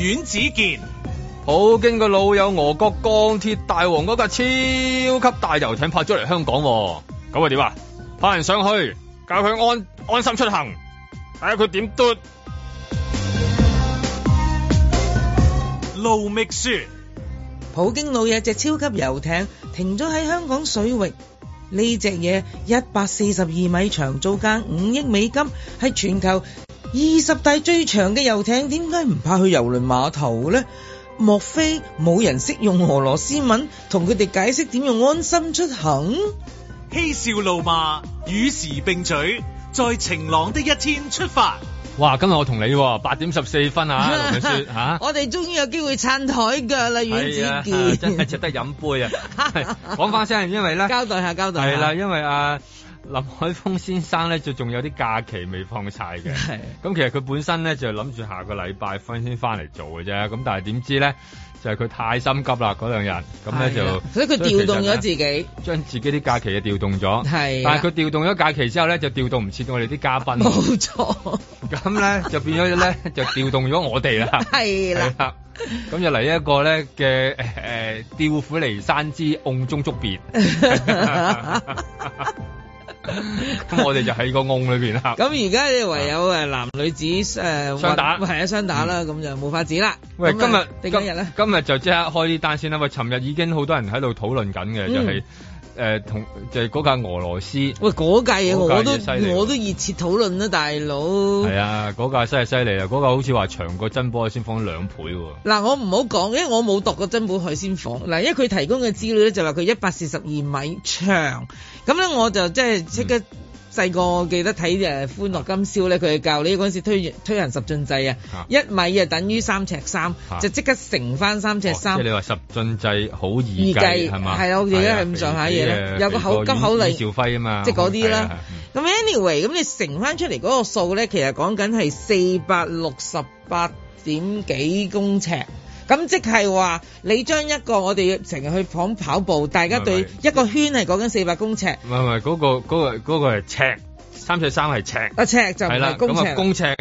阮子健， 普京個老友俄國鋼鐵大王嗰架超級大遊艇拍咗嚟香港，咁啊點啊？派人上去教佢安心出行，睇下佢點嘟。 盧覓雪， 普京老友隻超級遊艇停咗喺香港水域，呢隻嘢142米長，造價5億美金，係全球20大最長嘅遊艇，點解唔派去郵輪碼頭呢？莫非冇人識用俄羅斯文同佢哋解釋點用安心出行？ 嬉笑怒罵與時並舉，在晴朗的一天出發。 哇！今日我同你8點14分啊，盧覓雪嚇， 我哋終於有機會撐台腳啦，阮子健， 真係值得飲杯啊！講翻聲，因為咧交代下，係啦，因為林海峰先生咧就仲有啲假期未放晒嘅，咁其實佢本身咧就諗住下個禮拜先翻嚟做嘅啫，咁但係點知咧就係佢太心急啦嗰兩日，咁咧就所以佢調動咗自己， 將自己啲假期就調動咗， 係， 但係佢調動咗假期之後咧就調動唔切我哋啲嘉賓， 冇錯， 咁咧就變咗咧就調動咗我哋啦，係啦，咁就嚟一個咧嘅調虎離山之甕中捉鱉。咁我哋就喺個甕裏邊啦。咁而家你唯有男女子雙打，係雙打啦，咁就冇法子啦。喂，今日就即刻開呢單先啦。喂，尋日已經好多人喺度討論緊嘅，就係就係嗰架俄羅斯。喂，嗰架嘢我都熱切討論啦，大佬。係啊，嗰架真係犀利啊！嗰架好似話長過珍寶海鮮舫2倍喎。嗱，我唔好講，因為我冇度過珍寶海鮮舫。嗱，因為佢提供嘅資料咧就話佢142米長，咁咧我就即刻細個記得睇歡樂今宵咧，佢係教你嗰陣時推行十進制啊，1米啊等於3尺3，就即刻乘翻3尺3。即係你話十進制好易計係嘛？係啊，我而家係咁上下嘢咧，有個急口令邵輝啊嘛，即係嗰啲啦。咁 anyway， 咁你乘翻出嚟嗰個數咧，其實講緊係468點幾公尺。咁即係話，你將一個我哋成日去跑步，大家對一個圈係講緊400公尺。唔係，嗰個係尺，3尺3係尺。啊，尺就唔係公尺。咁公尺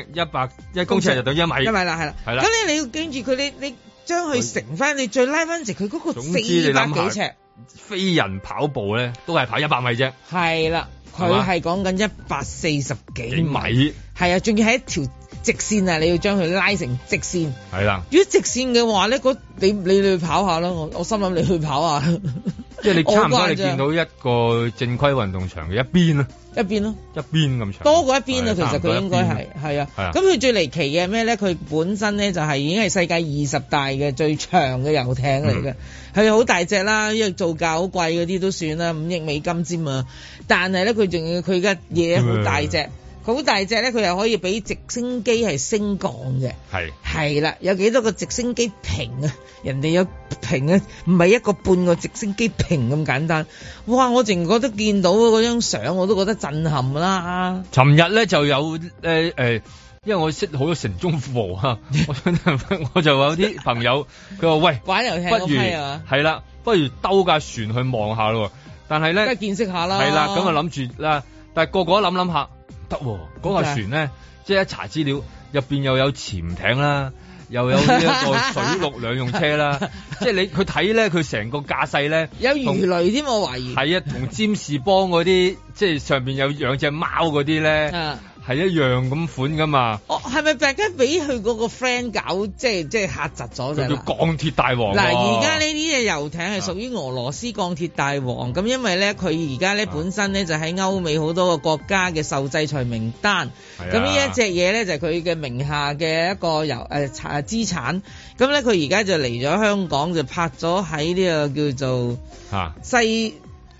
1公尺就等於1米。1米啦，係啦。係啦。咁你要記住佢，你將佢乘翻，你再拉翻直佢嗰個400幾尺。飛人跑步咧，都係跑100米啫。係啦，佢係講緊140幾米。係啊，仲要係一條直線啊！你要將佢拉成直線，係啦。如果直線嘅話咧，你去跑下啦。我心諗你去跑下，即係你差唔多你見到一個正規運動場嘅一邊咯，一邊咁長，多過一邊啊。其實佢應該係啊。咁佢最離奇嘅係咩咧？佢本身咧就係已經係世界20大嘅最長嘅遊艇嚟嘅，係好大隻啦。因為造價好貴嗰啲都算啦，5億美金之嘛。但係咧，佢仲要佢嘅嘢好大隻。好大隻咧，佢又可以俾直升機係升降嘅，係啦，有幾多個直升機坪啊？人哋有坪啊，唔係一個半個直升機坪咁簡單。哇！我淨覺得見到嗰張相，我都覺得震撼啦。尋日咧就有因為我識好多城中富豪啊，我就有啲朋友佢話喂，玩遊艇不如係啦，不如兜架船去望下咯。但係咧，梗係見識下啦。係啦，咁啊諗住啦，但係個個都諗下。得嗰架船咧，即係一查資料，入邊又有潛艇啦，又有呢一個水陸兩用車啦，即係佢睇咧，佢成個駕駛咧有魚雷添，我懷疑係啊，同占士邦嗰啲，即係上邊有養隻貓嗰啲咧。係一樣咁款噶嘛？哦，係咪大家俾佢嗰個 friend 搞，即係嚇窒咗啫？叫鋼鐵大王。嗱，而家呢啲嘅遊艇係屬於俄羅斯鋼鐵大王，咁因為咧佢而家咧本身咧就喺歐美好多個國家嘅受制裁名單，咁呢一隻嘢咧就係佢嘅名下嘅一個資產，咁咧佢而家就嚟咗香港，就拍咗喺呢個叫做西。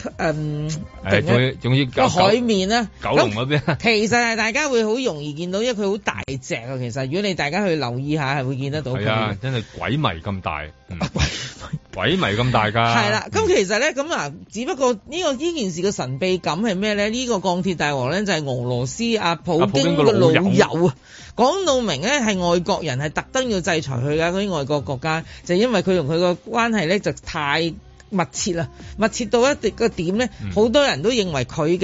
仲要個海面啦，九龍嗰邊。其實係大家會好容易見到，因為佢好大隻啊。其實如果你大家去留意下，係會見得到。係啊，真係鬼迷咁大，鬼迷咁大噶。係啦，咁其實咧，咁啊，只不過呢件事嘅神秘感係咩咧？呢個鋼鐵大王咧就係俄羅斯普京嘅老友啊。講到明咧，係外國人係特登要制裁佢噶，嗰啲外國國家就因為佢同佢個關係咧就太密切啦，密切到一個點咧，好多人都認為佢嘅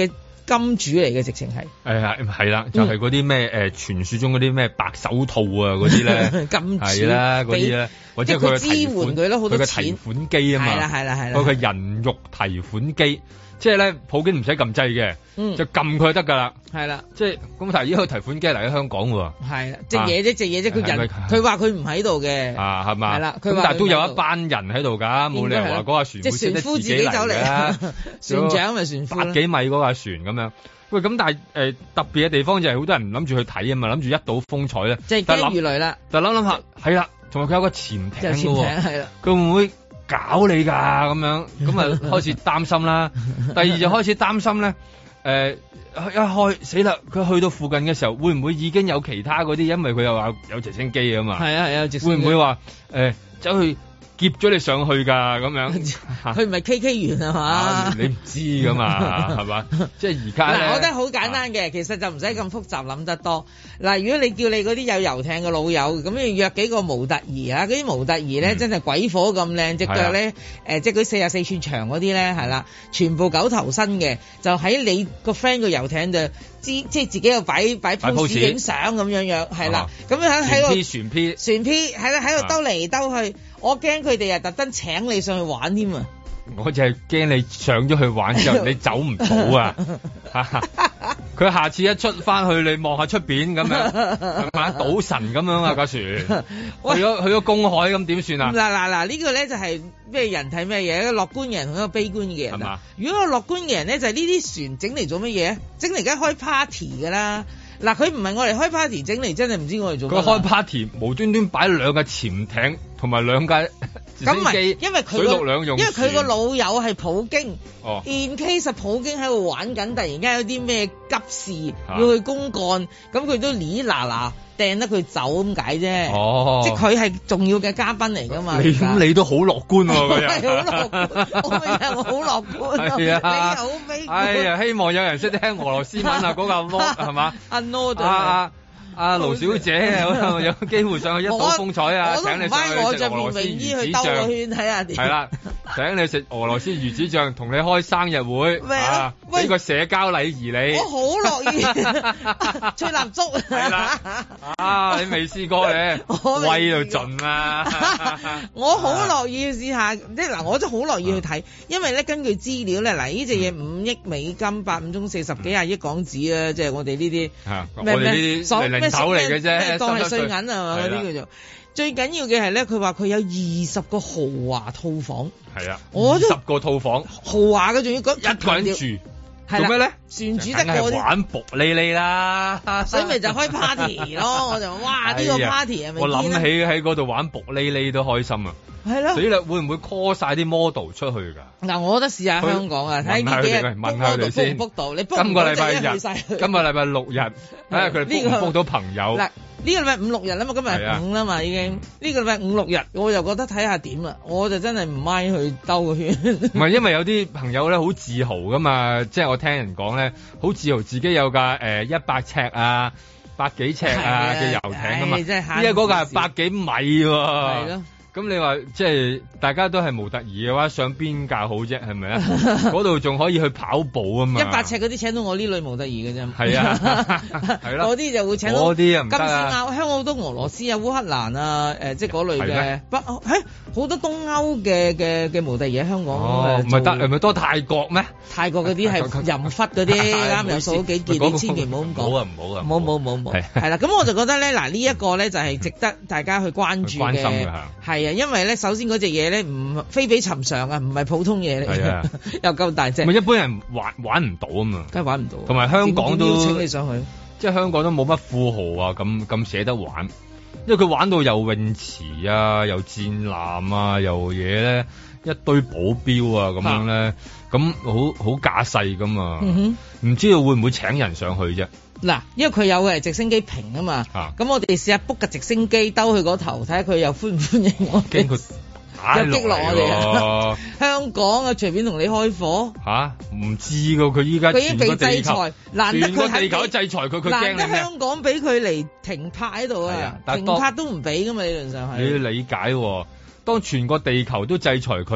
金主嚟嘅，直情係。 係啦，就係嗰啲咩傳説中嗰啲咩白手套啊嗰啲咧， 金主係啦嗰啲咧，或者佢支援佢咯，好多錢。 佢嘅提款機啊嘛， 係啦， 佢嘅人肉提款機。即係咧，普京唔使撳掣嘅，就撳佢就得㗎啦。係啦，即係咁。但係呢個提款機嚟喺香港喎。係啦，隻嘢啫，佢話佢唔喺度嘅。係嘛？係啦，咁但係都有一班人喺度㗎，冇理由話嗰架船會識得自己走嚟㗎。船長咪船夫，百幾米嗰架船咁樣。喂，咁但係特別嘅地方就係好多人唔諗住去睇啊嘛，諗住一睹風采咧。即係驚魚雷啦。但係諗下，係啦，同埋佢有個潛艇㗎喎。係啦，佢會唔會搞你㗎咁樣？咁啊開始擔心啦。第二就開始擔心咧，一開死啦！佢去到附近嘅時候，會唔會已經有其他嗰啲？因為佢又話有直升機啊嘛。係啊，直升機。會唔會話走去劫咗你上去㗎咁樣？佢唔係 KK 員啊嘛？你唔知㗎嘛？係嘛？即係而家嗱，我覺得好簡單嘅，其實就唔使咁複雜諗得多。嗱，如果你叫你嗰啲有遊艇嘅老友，咁你約幾個模特兒啊？嗰啲模特兒咧真係鬼火咁靚，隻腳咧即係嗰44寸長嗰啲咧係啦，全部九頭身嘅，就喺你個 friend 個遊艇就即係自己又擺 pose 影相咁樣係啦，咁樣喺個船 P 係啦，喺度兜嚟兜去，我驚佢哋特登請你上去玩添啊！我就係驚你上咗去玩之後你走唔到啊！佢下次一出翻去，你望下出邊咁樣，係嘛？賭神咁樣啊架船，去咗公海咁點算啊？嗱，呢個咧就係咩人睇咩嘢？一個樂觀嘅人同一個悲觀嘅人啊！如果個樂觀嘅人咧，就係呢啲船整嚟做乜嘢？整嚟梗係開 party 噶啦！嗱，佢唔係我嚟開 party 整嚟，真係唔知我嚟做乜。佢開 party 無端端擺兩架潛艇同埋兩架直升機，因為佢個老友係普京。in case 普京喺度玩緊，突然間有啲咩急事要去公幹，咁佢都哩嗱掟得佢走咁解啫。即係佢係重要嘅嘉賓嚟㗎嘛。你都好樂觀喎，佢又好樂觀，我好樂觀。係啊，你好悲觀。哎呀，希望有人識聽俄羅斯文啊，嗰個係嘛？阿盧小姐有機會上去一睹風采啊！請你上去食俄羅斯魚子醬，睇下點。係啦，請你食俄羅斯魚子醬，同你開生日會，俾個社交禮儀你。我好樂意吹蠟燭。係啦，你未試過咧，威到盡啊！我好樂意試下，即係嗱，我真係好樂意去睇，因為咧根據資料咧，嗱呢隻嘢5億美金，8、5中40幾廿億港紙啊，即係我哋呢啲我哋呢啲手嚟嘅啫，當係碎銀啊嘛，嗰啲叫做。最緊要嘅係咧，佢話佢有20個豪華套房。係啊，20個套房，豪華嘅仲要一個人住。做咩咧？船主得個玩薄哩哩啦，所以咪就開 party 咯。我就話哇，呢個 party 係咪？我諗起喺嗰度玩薄哩哩都開心啊！係咯，所以會唔會 call 晒啲 model 出去㗎？嗱，我覺得試下香港啊，睇呢幾日問下佢哋先。今個禮拜日，今個禮拜6日，睇下佢哋 book 到朋友。嗱，呢個禮拜5、6日啦嘛，今日係5啦嘛已經。呢個禮拜5、6日，我就覺得睇下點啦。我就真係唔mind去兜個圈。唔係，因為有啲朋友咧好自豪㗎嘛，即係我聽人講咧，好自豪自己有架100尺啊、100幾尺啊嘅遊艇㗎嘛。因為嗰架係100幾米喎。係咯。咁你話即係大家都係模特兒嘅話，上邊架好啫，係咪啊？嗰度仲可以去跑步啊嘛！100尺嗰啲請到我呢類模特兒嘅啫。係啊，係咯。嗰啲就會請到嗰啲啊，唔得啊！香港好多俄羅斯啊、烏克蘭啊，即係嗰類嘅。好多東歐嘅模特兒喺香港。哦，唔係多泰國咩？泰國嗰啲係淫忽嗰啲，啱有數幾件，你千祈唔好咁講。好啊，唔好啊。冇。係啦，咁我就覺得咧，嗱呢一個咧就係值得大家去關注嘅。關心嘅係。因為咧，首先嗰隻嘢咧唔非比尋常啊，唔係普通嘢嚟嘅，又夠大隻。咪一般人玩唔到啊嘛，梗係玩唔到。同埋香港都邀請你上去，即係香港都冇乜富豪啊，咁捨得玩，因為佢玩到游泳池啊，又戰艦啊，又嘢咧，一堆保鏢啊咁樣咧，咁好架勢噶嘛，唔知道會唔會請人上去啫？嗱，因為佢有嘅直升機坪啊嘛，咁我哋試下 book 架直升機兜去嗰頭，睇下佢又歡唔歡迎我哋，驚佢又擊落我哋。香港啊，隨便同你開火嚇，唔知噶，佢依家佢已經被制裁，難得佢地球都制裁佢，佢驚你咩？香港俾佢嚟停泊喺度啊，停泊都唔俾噶嘛，理論上係。你要理解，當全個地球都制裁佢，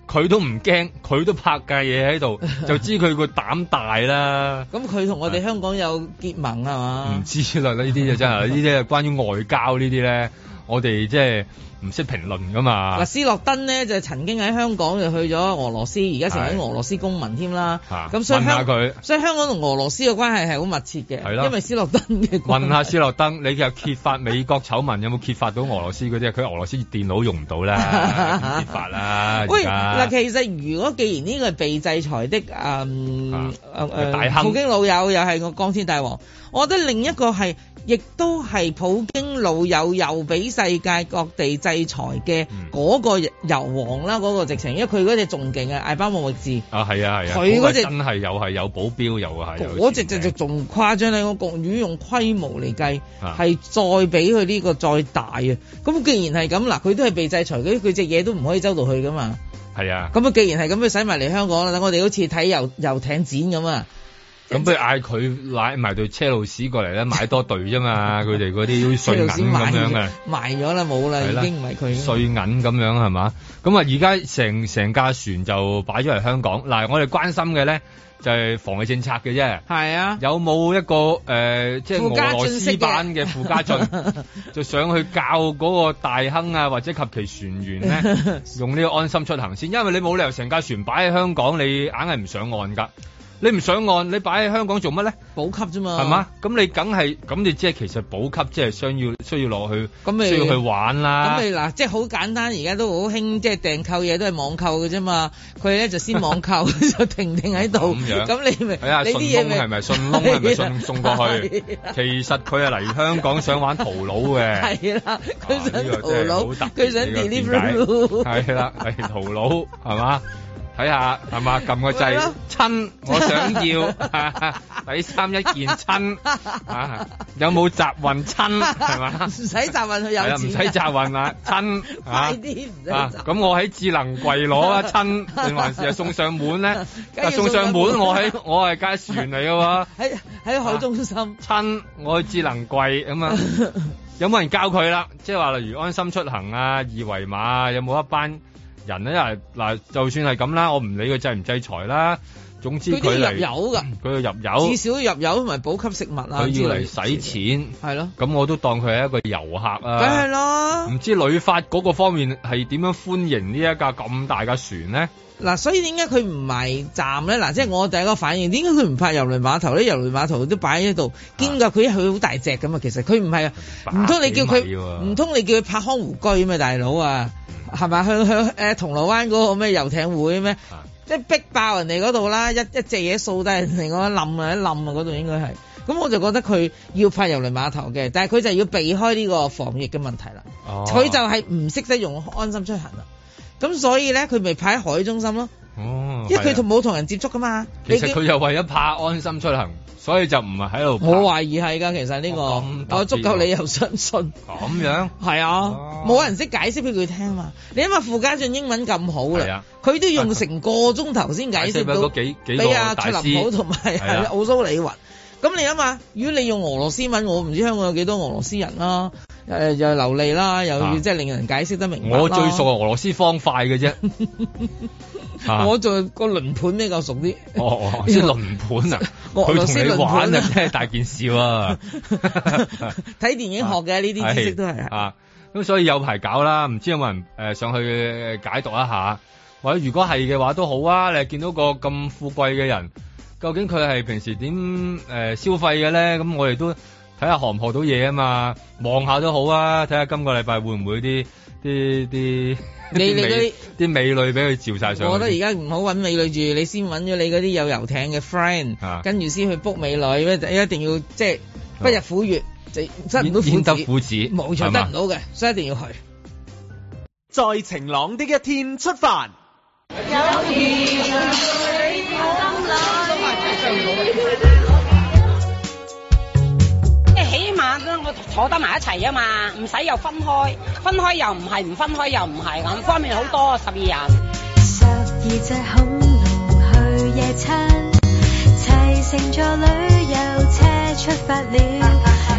佢都唔驚，佢都拍架嘢喺度，就知佢個膽大啦。 咁佢同我哋香港有結盟係嘛？ 唔知啦，呢啲就真係呢啲係關於外交呢啲咧，我哋即係唔識評論噶嘛。 斯諾登呢就曾經喺香港就去咗俄羅斯，而家成為俄羅斯公民添啦。咁所以所以香港同俄羅斯嘅關係係好密切嘅，因為斯諾登嘅關係。 問下斯諾登，你又揭發美國醜聞有冇揭發到俄羅斯嗰啲？佢俄羅斯電腦用唔到啦，揭發啦。 喂，嗱，其實如果既然呢個係被制裁的大亨普京老友又係個光天大王，我覺得另一個係。亦都係普京老友又俾世界各地制裁嘅嗰個油王啦，嗰個直情，因為佢嗰隻仲勁啊，艾巴莫域治啊，係啊， 佢嗰隻真係又係有保鏢，又係嗰隻就仲誇張咧，個國語用規模嚟計係再比佢呢個再大啊！咁既然係咁嗱，佢都係被制裁，佢隻嘢都唔可以周到去噶嘛。 係啊， 咁啊，既然係咁，佢使埋嚟香港啦，等我哋好似睇遊艇展咁啊！ 咁不如嗌佢拉埋對車路士過嚟咧，買多隊啫嘛！佢哋嗰啲好似碎銀咁樣嘅， 賣咗啦，冇啦，已經唔係佢碎銀咁樣係嘛？咁啊，而家成架船就擺咗嚟香港。嗱，我哋關心嘅咧就係防疫政策嘅啫。係啊，有冇一個即係俄羅斯版嘅傅家俊，就上去教嗰個大亨啊，或者及其船員咧，用呢個安心出行先，因為你冇理由成架船擺喺香港，你硬係唔上岸㗎。你唔上岸，你擺喺香港做乜咧？補給啫嘛，係嘛？咁你梗係咁，你即係其實補給即係需要落去，需要去玩啦。咁你嗱，即係好簡單，而家都好興，即係訂購嘢都係網購嘅啫嘛。佢咧就先網購，就停喺度。咁樣，咁你咪你啲嘢咪係咪順豐係咪送過去？其實佢係嚟香港想玩淘佬嘅。係啦，佢想淘佬，佢想 deliver。係啦，係淘佬係嘛？睇下係嘛，撳個掣親，我想要底衫一件親有冇集運親係嘛？唔使集運去有錢，唔使集運啊親，快啲唔使集。咁我喺智能櫃攞啊親，定還是係送上門咧？送上門我係架船嚟嘅喎，喺海中心親，我去智能櫃咁啊，有冇人教佢啦？即係話例如安心出行啊、二維碼啊，有冇一班人咧？嗱，就算係咁啦，我唔理佢制唔制裁啦。總之佢嚟入油㗎，佢要入油，至少入油同埋補給食物啊。佢要嚟使錢，係咯。咁我都當佢係一個遊客啊。梗係咯。唔知旅發嗰個方面係點樣歡迎呢一架咁大嘅船咧？嗱，所以點解佢唔埋站咧？嗱，即係我第一個反應，點解佢唔泊郵輪碼頭咧？郵輪碼頭都擺喺度，兼夾佢好大隻咁啊！其實佢唔係啊，唔通你叫佢唔通你叫佢泊康湖居咩，大佬啊？係咪向銅鑼灣嗰個咩遊艇會咩？即係逼爆人哋嗰度啦，一隻嘢掃低人哋嗰冧啊，一冧啊嗰度應該係。咁我就覺得佢要泊郵輪碼頭嘅，但係佢就要避開呢個防疫嘅問題啦。佢就係唔識得用安心出行啦。咁所以咧，佢咪泊喺海中心咯。哦，因為佢冇同人接觸噶嘛。其實佢又為咗怕安心出行，所以就唔係喺度。我懷疑係㗎，其實呢個我足夠理由相信。咁樣係啊，冇人識解釋俾佢聽嘛。你因為傅家俊英文咁好啦，佢都用成個鐘頭先解釋到俾阿卓林普同埋奧蘇里雲。咁你諗下，如果你用俄羅斯文，我唔知香港有幾多俄羅斯人啦，又流利啦，又要即係令人解釋得明白啦。我最熟係俄羅斯方塊嘅啫，我做個輪盤比較熟啲。哦，先輪盤啊！佢同你玩啊，真係大件事喎。睇電影學嘅呢啲知識都係啊。咁所以有排搞啦，唔知有冇人上去解讀一下，或者如果係嘅話都好啊。你見到個咁富貴嘅人。究竟佢係平時點消費嘅咧？咁我哋都睇下學唔學到嘢啊嘛，望下都好啊。睇下今個禮拜會唔會啲美女俾佢照晒上去。我覺得而家唔好揾美女住，你先揾咗你嗰啲有遊艇嘅 friend，跟住先去 book 美女。一定要即係不入虎穴，就得唔到虎子，冇錯，得唔到嘅，所以一定要去。 在晴朗的一天出發。 起碼我坐得埋一齊啊嘛，唔使又分開，分開又唔係，唔分開又唔係，咁方面好多12人。12隻恐龍去夜餐，齊乘坐旅遊車出發了。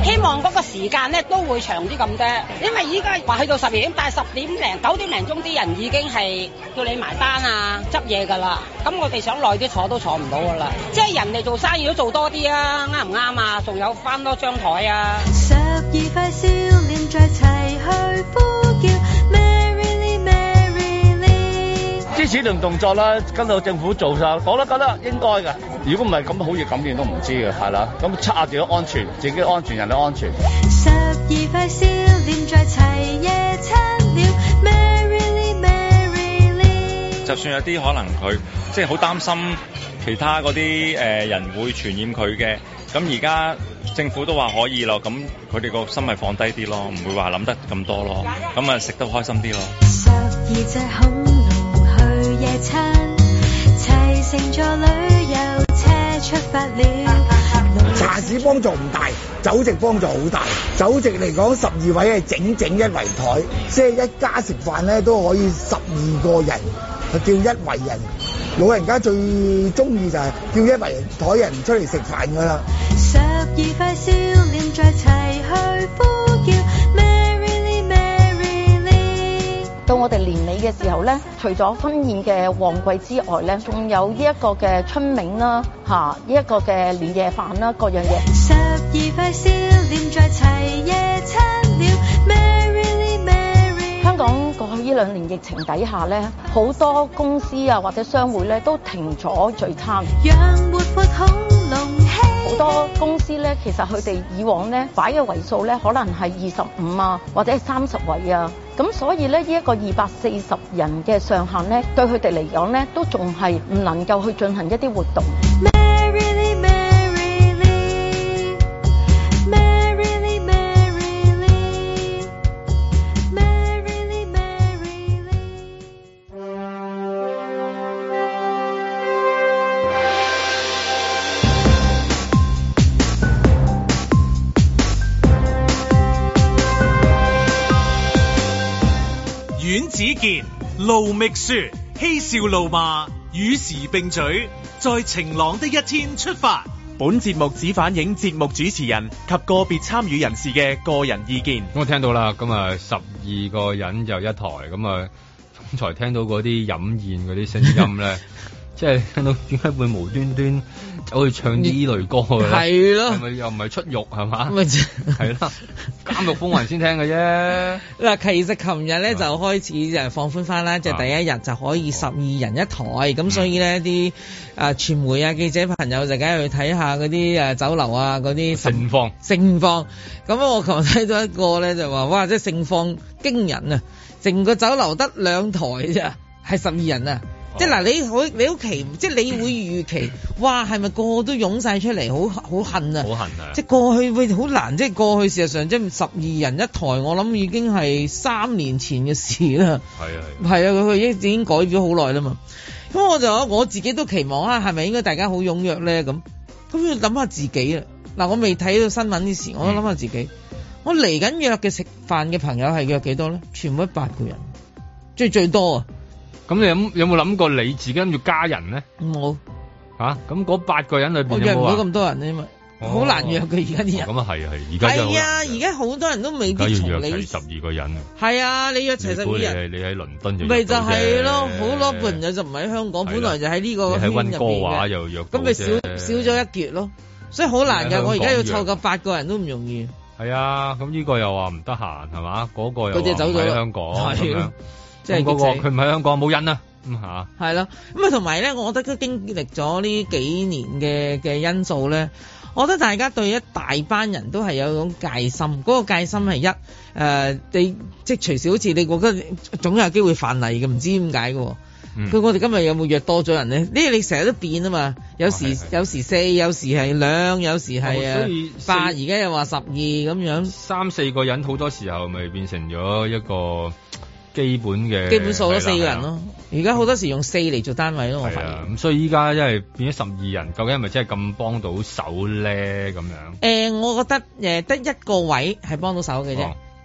希望嗰個時間咧都會長啲咁啫。因為依家話去到12點，但係10點零9點零鐘啲人已經係叫你埋單啊、執嘢㗎啦。咁我哋想耐啲坐都坐唔到㗎啦。即係人哋做生意都做多啲啊，啱唔啱啊？仲有翻多張台啊！12塊少年在齊去呼叫 Merrily Merrily。 支持同動作啦，跟到政府做晒，我都覺得應該㗎。如果唔係咁，好似咁樣都唔知嘅，係啦。咁測下自己安全，自己安全，人哋安全。12塊少年在齊夜餐了 Merrily Merrily。 就算有啲可能佢即係好擔心其他嗰啲人會傳染佢嘅，咁而家政府都話可以咯，咁佢哋個心咪放低啲咯，唔會話諗得咁多咯，咁啊食得開心啲咯。12隻恐龍去夜餐，齊乘坐旅遊車出發了。 茶市幫助唔大，酒席幫助好大。酒席嚟講，12位係整一圍台，即係一家食飯咧都可以12個人，就叫一圍人。老人家最中意就係叫一圍台人出嚟食飯㗎啦。12塊少年在齊去呼叫 Merrily Merrily。到我哋年尾嘅時候咧，除咗婚宴嘅旺季之外咧，仲有呢一個嘅春茗啦，呢一個嘅年夜飯啦，各樣嘢。12塊少年在齊夜餐了 Merrily Merrily。香港過去呢2年疫情底下咧，好多公司啊或者商會咧都停咗聚餐。讓活潑恐龍好多公司咧，其實佢哋以往咧擺嘅位數咧，可能係25啊，或者係30位啊。咁所以咧，呢一個240人嘅上限咧，對佢哋嚟講咧，都仲係唔能夠去進行一啲活動。Merrily Merrily Merrily Merrily Merrily Merrily。 阮子健、盧覓雪，嬉笑怒罵，與時並舉，在晴朗的一天出發。 本節目只反映節目主持人及個別參與人士嘅個人意見。 咁我聽到啦，咁啊12個人就一台，咁啊剛才聽到嗰啲飲宴嗰啲聲音咧，即係聽到點解會無端端走去唱呢類歌嘅？係咯，係咪又唔係出獄係嘛？咪係啦，監獄風雲先聽嘅啫。 嗱，其實琴日咧就開始就放寬翻啦，即係第一日就可以12人一台，咁所以咧啲傳媒啊記者朋友就梗係去睇下嗰啲酒樓啊嗰啲盛況。 咁我琴日睇到一個咧就話，哇！即係盛況驚人啊！成個酒樓得2台啫，係12人啊！即係嗱，你好奇，即係你會預期，哇，係咪個個都湧晒出嚟，好恨啊！好恨啊！即係過去會好難，即係過去事實上即係12人一台，我諗已經係3年前嘅事啦。係啊，佢已經改咗好耐啦嘛。咁我自己都期望啊，係咪應該大家好踴躍咧？咁要諗下自己啦。嗱，我未睇到新聞啲事，我都諗下自己。我嚟緊約嘅食飯嘅朋友係約幾多咧？全部都8個人，最多啊！ 咁你有冇諗過你自己諗住加人咧？冇嚇，咁嗰8個人裏邊有冇約唔到咁多人咧？因為好難約嘅而家啲人。咁啊係而家係啊，而家好多人都未必從你約齊12個人。係啊，你約齊12人。你喺倫敦就咪就係咯，好多朋友就唔喺香港，本來就喺呢個圈入邊嘅。喺溫哥華又約到啫。咁咪少咗一橛咯，所以好難㗎。我而家要湊夠8個人都唔容易。係啊，咁呢個又話唔得閒係嘛？嗰個又走咗喺香港咁樣。即係嗰個佢唔喺香港冇癮啊，咁嚇係咯，咁啊同埋咧，我覺得都經歷咗呢幾年嘅因素咧，我覺得大家對一大班人都係有種戒心，嗰個戒心係你即係隨時好似你覺得總有機會犯例嘅，唔知點解嘅。我哋今日有冇約多咗人咧？呢你成日都變啊嘛，有時4，有時係2，有時係8，而家又話12咁樣，3、4個人好多時候咪變成咗一個基本數咯，4個人咯。而家好多時用4嚟做單位咯，我發現。咁所以依家因為變咗12人，究竟係咪真係咁幫到手咧？咁樣？我覺得得1個位係幫到手嘅啫。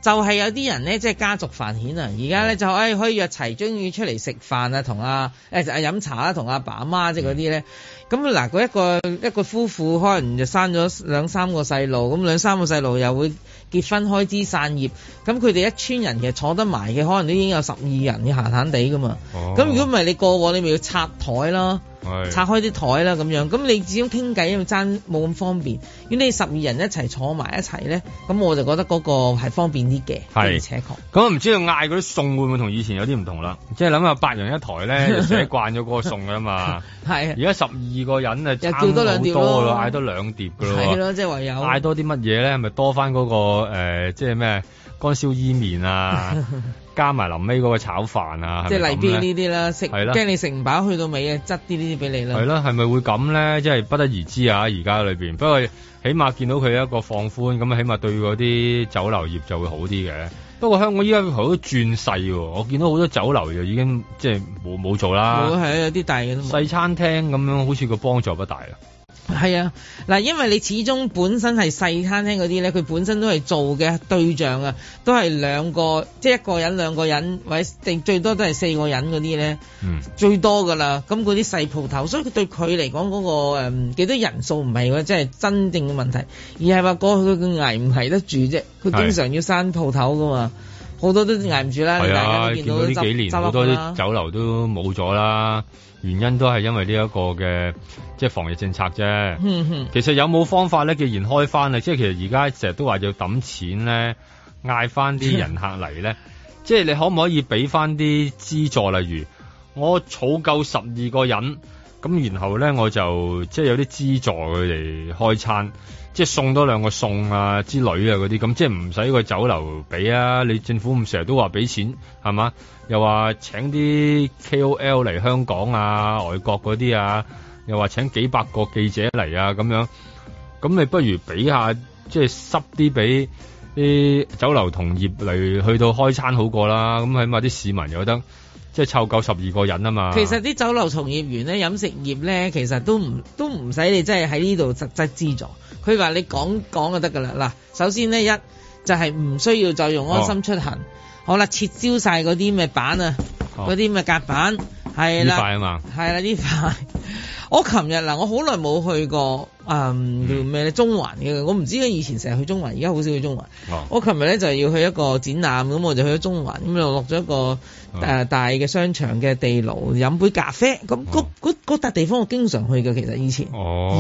就係有啲人咧，即係家族繁衍啊！而家咧就可以約齊，終於出嚟食飯啊，同飲茶啊，同阿爸阿媽即係嗰啲咧。咁嗱，嗰一個夫婦可能就生咗2-3個細路，咁2-3個細路又會結婚開枝散葉，咁佢哋一村人其實坐得埋嘅，可能都已經有12人嘅閒閒地噶嘛。咁如果唔係你過往，你咪要拆台啦。拆開啲台啦咁樣，咁你始終傾偈因為爭冇咁方便。如果你12人一齊坐埋一齊咧，咁我就覺得嗰個係方便啲嘅，而且確。 咁唔知道嗌嗰啲餸會唔會同以前有啲唔同啦？即係諗下8人一台咧，就寫慣咗嗰個餸㗎嘛。係。而家12個人啊，差好多咯，嗌多2碟㗎咯。係咯，即係唯有嗌多啲乜嘢咧？係咪多翻嗰個即係咩乾燒伊麵啊？加埋臨尾嗰個炒飯啊， 即係例邊呢啲啦，食驚你食唔飽，去到尾啊，執啲呢啲俾你啦。係咯，係咪會咁咧？即係不得而知啊！而家裏邊，不過起碼見到佢一個放寬，咁起碼對嗰啲酒樓業就會好啲嘅。不過香港依家好多轉勢喎，我見到好多酒樓就已經即係冇做啦。冇係有啲大嘅都冇。細餐廳咁樣，好似個幫助不大啦。 係啊，嗱，因為你始終本身係細餐廳嗰啲咧，佢本身都係做嘅對象啊，都係2個，即係1個人2個人，或者定最多都係4個人嗰啲咧，最多噶啦。咁嗰啲細鋪頭，所以佢對佢嚟講嗰個幾多人數唔係即係真正嘅問題，而係話過去佢捱唔捱得住啫。佢經常要閂鋪頭噶嘛，好多都捱唔住啦。係啊，見到呢幾年好多啲酒樓都冇咗啦。原因都係因為呢一個嘅即係防疫政策啫。其實有冇方法咧？既然開翻啦，即係其實而家成日都話要揼錢咧，嗌翻啲人客嚟咧，即係你可唔可以俾翻啲資助？例如我儲夠12個人，咁然後咧我就即係有啲資助佢哋開餐，即係送多2個餸啊之類啊嗰啲，咁即係唔使個酒樓俾啊。你政府咁成日都話俾錢係嘛？又話請啲 KOL 嚟香港啊，外國嗰啲啊，又話請幾百個記者嚟啊，咁樣，咁你不如俾下即係濕啲俾啲酒樓同業嚟去到開餐好過啦。咁起碼啲市民有得即係湊夠12個人啊嘛。其實啲酒樓從業員咧，飲食業咧，其實都唔使你真係喺呢度實質資助。佢話你講就得噶啦。嗱，首先呢，一就係唔需要再用安心出行。好啦，撤銷晒嗰啲咩板啊，嗰啲咩隔板，係啦，呢塊啊嘛，係啦呢塊。我琴日我好耐冇去過叫咩咧中環嘅，我唔知以前成日去中環，而家好少去中環。我琴日咧就要去一個展覽，咁我就去咗中環，咁就落咗一個大嘅商場嘅地牢飲杯咖啡。咁嗰笪地方我經常去嘅，其實以前。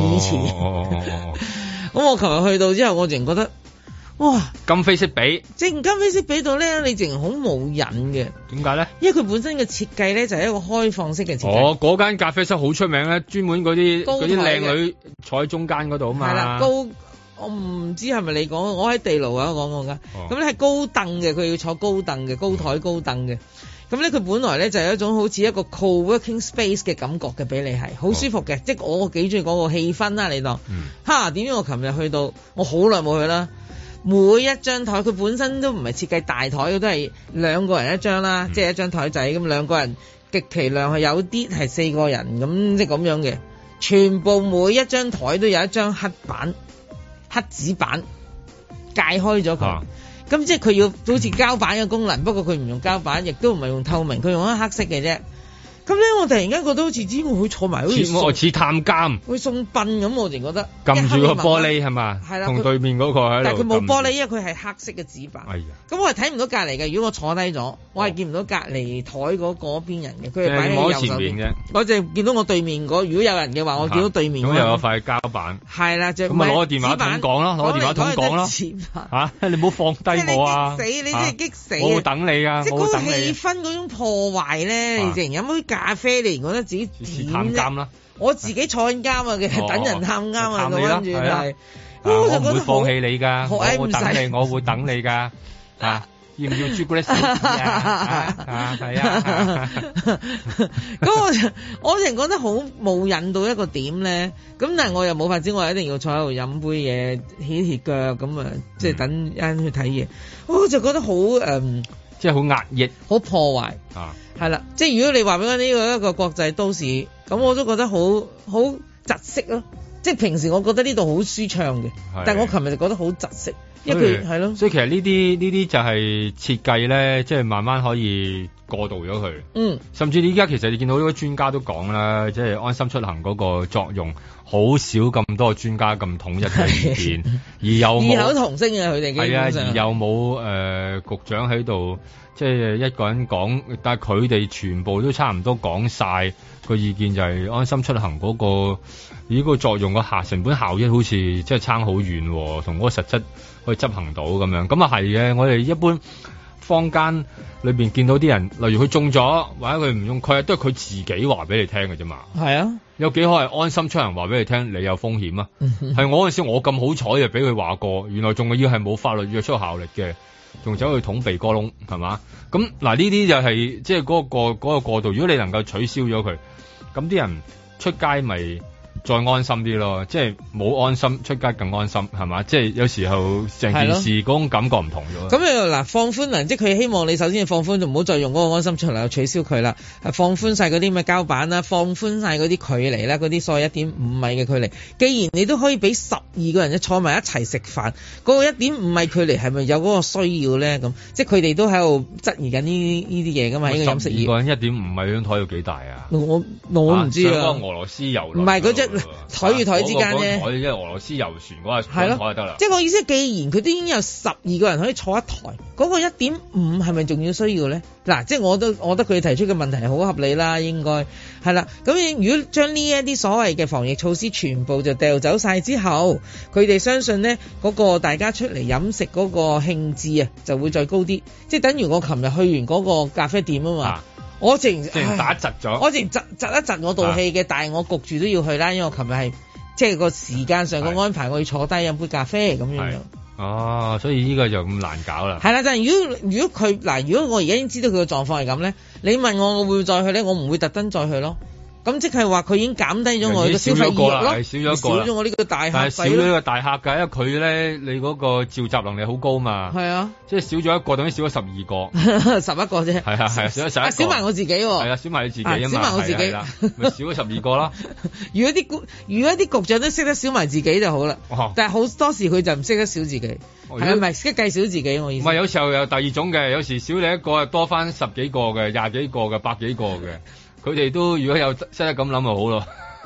咁我琴日去到之後，我淨覺得。哇！今非昔比，今非昔比到咧，你淨好冇癮嘅。點解咧？因為佢本身嘅設計咧就係一個開放式嘅設計。嗰間咖啡室好出名咧，專門嗰啲靚女坐喺中間嗰度啊嘛。係啦，我唔知係咪你講，我喺地牢啊講過㗎。咁咧係高凳嘅，佢要坐高凳嘅，高台高凳嘅。咁咧佢本來咧就係一種好似一個 co-working space 嘅感覺嘅，俾你係好舒服嘅。即係我幾中意嗰個氣氛啦，你當。點知我琴日去到，我好耐冇去啦。每一張台佢本身都唔係設計大台，佢都係2個人一張啦，即係一張台仔咁2個人，極其量係有啲係4個人咁，即係咁樣嘅。全部每一張台都有一張黑紙板界開咗佢，咁即係佢要好似膠板嘅功能，不過佢唔用膠板，亦都唔係用透明，佢用一黑色嘅啫。咁咧，我突然間覺得好似只會坐埋好似探監，會送殯咁，我淨覺得撳住個玻璃係嘛？係啦，同對面嗰個喺度。但係佢冇玻璃，因為佢係黑色嘅紙板。哎呀！咁我係睇唔到隔離嘅。如果我坐低咗，我係見唔到隔離台嗰邊人嘅。佢係擺喺右手邊嘅。我就見到我對面嗰，如果有人嘅話，我見到對面。咁又有塊膠板。係啦，咁咪攞個電話筒講咯，攞個電話筒講咯。嚇！你唔好放低我啊！激死你！真係激死！我會等你啊！即係嗰個氣氛嗰種破壞咧，你淨飲杯咖啡，你覺得自己探監啦！我自己坐緊監啊，嘅等人探監啊，跟住就係，我就覺得放棄你㗎，我會等你，我會等你㗎。要唔要朱古力手指啊？係啊！咁我淨覺得好冇癮到一個點咧。咁但係我又冇法子，我一定要坐喺度飲杯嘢，歇歇腳咁啊，即係等人去睇嘢。我就覺得好即係好壓抑，好破壞啊！係啦，即係如果你話俾我呢個一個國際都市，咁我都覺得好窒息咯。即係平時我覺得呢度好舒暢嘅，但係我琴日就覺得好窒息。 因為佢係咯， 所以其實呢啲就係設計咧，即係慢慢可以過渡咗佢。甚至你而家其實你見到呢個專家都講啦，即係安心出行嗰個作用，好少咁多專家咁統一嘅意見，而又冇異口同聲嘅佢哋， 係啊，而又冇局長喺度，即係一個人講，但係佢哋全部都差唔多講晒個意見，就係安心出行嗰個呢個作用個成本效益好似即係差好遠，同嗰個實質可以執行到咁樣。咁啊係嘅，我哋一般坊間裏邊見到啲人，例如佢中咗或者佢唔中，佢都係佢自己話俾你聽嘅啫嘛。係啊，有幾可係安心出行話俾你聽，你有風險啊？係我嗰陣時我咁好彩就俾佢話過，原來仲要係冇法律約束效力嘅，仲走去捅鼻哥窿係嘛？咁嗱呢啲就係即係嗰個過渡。如果你能夠取消咗佢，咁啲人出街咪再安心啲咯，即係冇安心出街更安心係嘛？即係有時候成件事嗰種感覺唔同咗。咁嗱放寬啦，即係佢希望你首先放寬，就唔好再用嗰個安心出行取消佢啦，放寬晒嗰啲咩膠板啦，放寬晒嗰啲距離啦，嗰啲所謂 1.5 米嘅距離。既然你都可以俾12個人坐埋一齊食飯，嗰個 1.5 米距離係咪有嗰個需要咧？咁即係佢哋都喺度質疑緊呢啲嘢㗎嘛？呢個飲食業。12個人 1.5米張台要幾大啊？ 我唔知啊。 嗰個俄羅斯遊唔係嗰隻台與台之間啫， 台即係俄羅斯遊船嗰個台就得啦。 即係我意思，既然佢都已經有12個人可以坐一台，嗰個 1.5 係咪仲要需要咧？嗱，即係我覺得佢提出嘅問題係好合理啦，應該係啦。咁如果將呢一啲所謂嘅防疫措施全部就掉走晒之後，佢哋相信咧嗰個大家出嚟飲食嗰個興致啊，就會再高啲。即係等於我琴日去完嗰個咖啡店啊嘛。我淨打窒咗， 我淨窒一窒我道氣嘅，但係我焗住都要去啦，因為我琴日係即係個時間上嘅安排，我要坐低飲杯咖啡咁樣。 哦，所以呢個就咁難搞啦。 係啦，但係如果佢嗱，如果我而家已經知道佢嘅狀況係咁咧，你問我會唔會再去咧？我唔會特登再去咯。咁即係話佢已經減低咗我嘅消費意欲咯，少咗我呢個大客， 但係少咗呢個大客㗎，因為佢咧你嗰個召集能力好高嘛。係啊，即係少咗一個等於少咗12個 ，11個啫。係啊，少咗11個， 少埋我自己喎。 係啊，少埋你自己啊嘛。 少埋我自己， 咪少咗12個啦。 如果啲局長都識得少埋自己就好啦。但係好多時佢就唔識得少自己，係咪識得計少自己？我意思。唔係有時候有第二種嘅，有時少你一個多翻10幾個嘅、20幾個嘅、100幾個嘅。佢哋都如果有識得咁諗就好咯。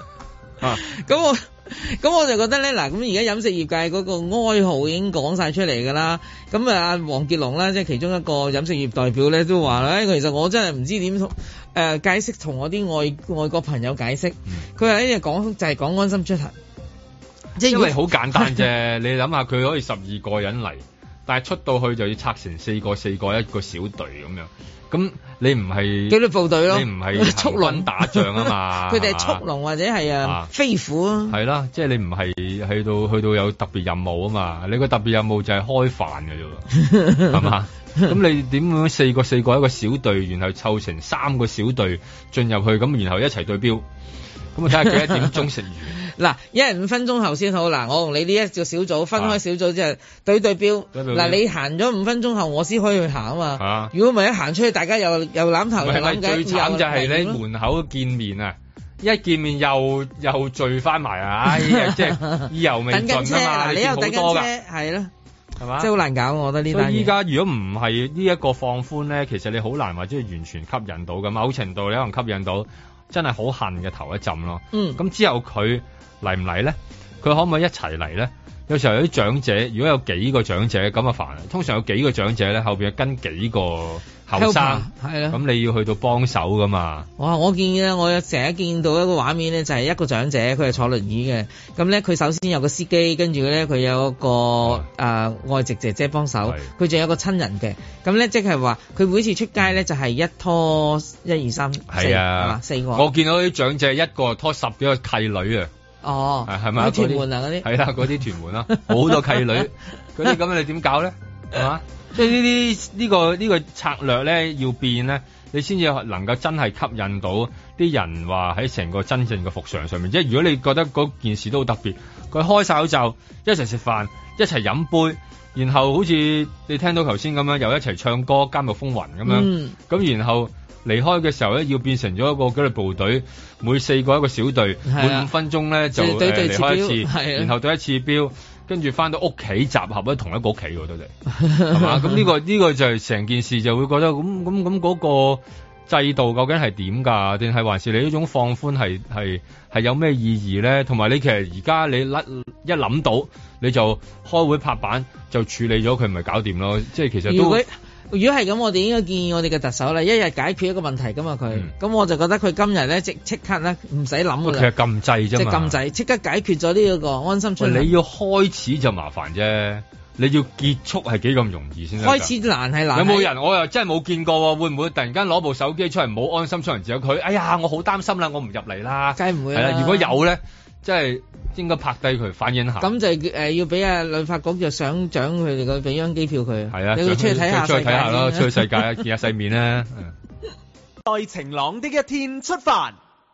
咁我就覺得咧，嗱，咁而家飲食業界嗰個哀號已經講晒出嚟㗎啦。咁啊，黃傑龍啦，即係其中一個飲食業代表咧，都話咧，其實我真係唔知點解釋同我啲外國朋友解釋。佢話呢隻講就係講安心出行，即係因為好簡單啫。你諗下，佢可以12個人嚟，但係出到去就要拆成4個一個小隊咁樣。咁你唔係紀律部隊咯， 你唔係速龍打仗啊嘛， 佢哋係速龍或者係飛虎啊， 係啦，即係你唔係去到有特別任務啊嘛，你個特別任務就係開飯嘅啫，係嘛？咁你點樣4個一個小隊，然後湊成3個小隊進入去，咁然後一齊對標，咁我睇下幾多點鐘食完。 嗱，一人5分鐘後先好。嗱，我同你呢一個小組分開小組之後對標。嗱，你行咗5分鐘後，我先可以去行啊嘛。如果唔係一行出去，大家又攬頭又攬計。最慘就係你門口見面啊，一見面又聚翻埋啊！哎呀，即係意猶未盡啊嘛。你又等緊車，係咯，係嘛？即係好難搞，我覺得呢單嘢。所以依家如果唔係呢一個放寬咧，其實你好難話即係完全吸引到嘅。某程度你可能吸引到真係好恨嘅頭一陣咯。咁之後佢嚟唔嚟咧？佢可唔可以一齊嚟咧？有時候有啲長者，如果有幾個長者咁啊煩。通常有幾個長者咧，後邊跟幾個後生，係啦。咁你要去到幫手噶嘛？哇！我見咧，我成日見到一個畫面咧，就係一個長者，佢係坐輪椅嘅。咁咧，佢首先有個司機，跟住咧佢有一個外籍姐姐幫手，佢仲有個親人嘅。咁咧，即係話佢每次出街咧，就係一拖1、2、3、4，係嘛，4個。我見到啲長者一個拖10幾個契女啊！哦，係咪屯門啊嗰啲？係啦，嗰啲屯門啦，好多契女，嗰啲咁你點搞咧？係嘛？即係呢個策略咧要變咧，你先至能夠真係吸引到啲人話喺成個真正嘅復常上面。即係如果你覺得嗰件事都好特別，佢開晒口罩，一齊食飯，一齊飲杯，然後好似你聽到頭先咁樣，又一齊唱歌《監獄風雲》咁樣，咁然後離開嘅時候咧，要變成咗一個紀律部隊，每4個一個小隊，每5分鐘咧就離開一次，然後對一次標， 跟住翻到屋企集合喺同一個屋企喎，都係係嘛？咁呢個就係成件事就會覺得咁嗰個制度究竟係點㗎？定係還是你呢種放寬係有咩意義咧？同埋你其實而家你一諗到你就開會拍板就處理咗佢，咪搞掂咯？即係其實都。 如果係咁，我哋應該建議我哋嘅特首啦，一日解決一個問題㗎嘛佢。咁我就覺得佢今日咧即刻咧唔使諗㗎啦。其實禁制啫嘛。即係禁制，即刻解決咗呢個安心出行。你要開始就麻煩啫，你要結束係幾咁容易先得？開始難係難。有冇人？我又真係冇見過喎，會唔會突然間攞部手機出嚟冇安心出行之後佢？哎呀，我好擔心啦，我唔入嚟啦。梗係唔會啦。係啦，如果有咧，即係應該拍低佢反映下。咁就要俾旅發局就想獎佢哋個俾張機票佢。係啊，你要出去睇下世界。出去睇下咯，出去世界見下世面啦。 在晴朗的一天出發。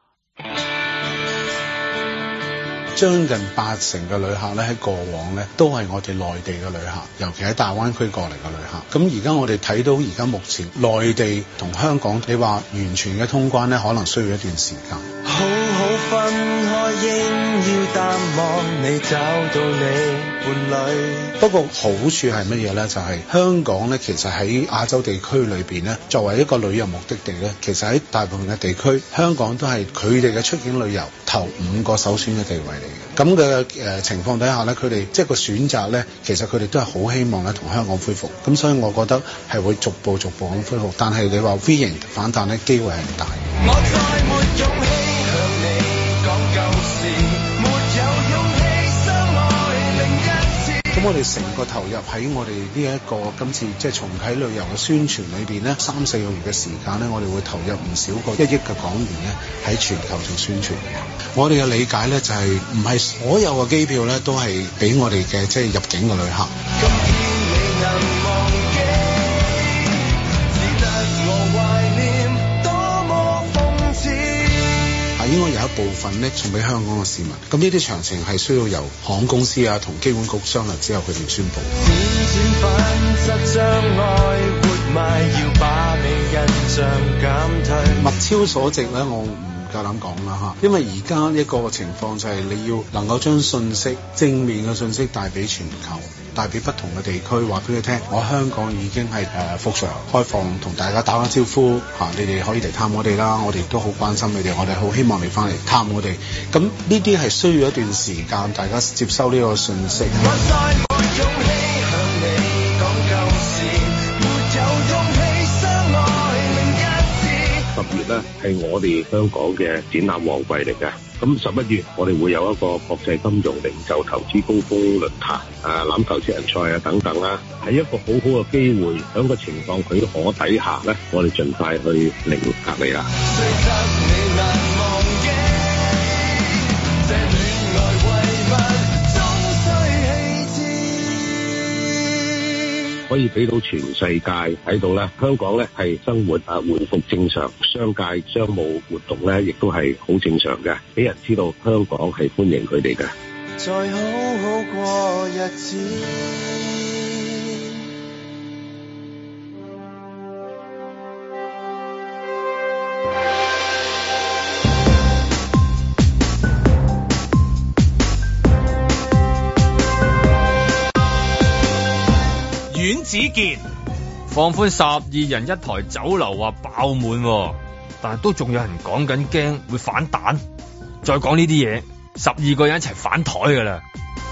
將近80%嘅旅客咧喺過往咧都係我哋內地嘅旅客，尤其喺大灣區過嚟嘅旅客。咁而家我哋睇到而家目前內地同香港，你話完全嘅通關咧，可能需要一段時間。好好分開，應要淡忘你找到你伴侶。不過好處係乜嘢咧？就係香港咧，其實喺亞洲地區裏邊咧，作為一個旅遊目的地咧，其實喺大部分嘅地區，香港都係佢哋嘅出境旅遊頭5個首選嘅地位嚟嘅。咁嘅情況底下咧，佢哋即係個選擇咧，其實佢哋都係好希望咧同香港恢復。咁所以我覺得係會逐步咁恢復。但係你話 V 型反彈咧，機會係唔大。我再沒勇氣向你講舊事，沒有勇氣相愛另一次。咁我哋成個投入喺我哋呢一個今次即係重啟旅遊嘅宣傳裏邊咧，3-4個月嘅時間咧，我哋會投入唔少過1億嘅港元咧喺全球做宣傳。我哋嘅理解咧就係唔係所有嘅機票咧都係俾我哋嘅即係入境嘅旅客。今天你能忘記，只得我懷念，多麼諷刺。應該有一部分咧送俾香港嘅市民。咁呢啲詳情係需要由航空公司啊同機管局商量之後佢哋宣布。物超所值咧，我夠膽講啦嚇，因為而家一個情況就係你要能夠將信息正面嘅信息帶俾全球，帶俾不同嘅地區，話俾佢聽，我香港已經係復常開放，同大家打個招呼嚇，你哋可以嚟探我哋啦，我哋都好關心你哋，我哋好希望你翻嚟探我哋。咁呢啲係需要一段時間，大家接收呢個信息。 10月咧係我哋香港嘅展覽旺季嚟嘅，咁11月我哋會有一個國際金融零售投資高峰論壇，欖球職人賽啊等等啦，係一個好好嘅機會，喺個情況許可底下咧，我哋盡快去零隔離啦。可以俾到全世界睇到咧，香港咧係生活回復正常，商界商務活動咧亦都係好正常嘅，俾人知道香港係歡迎佢哋嘅。再好好過日子。 阮子健放寬12人一台酒樓話爆滿，但係都仲有人講緊驚會反彈。再講呢啲嘢，12個人一齊反台噶啦。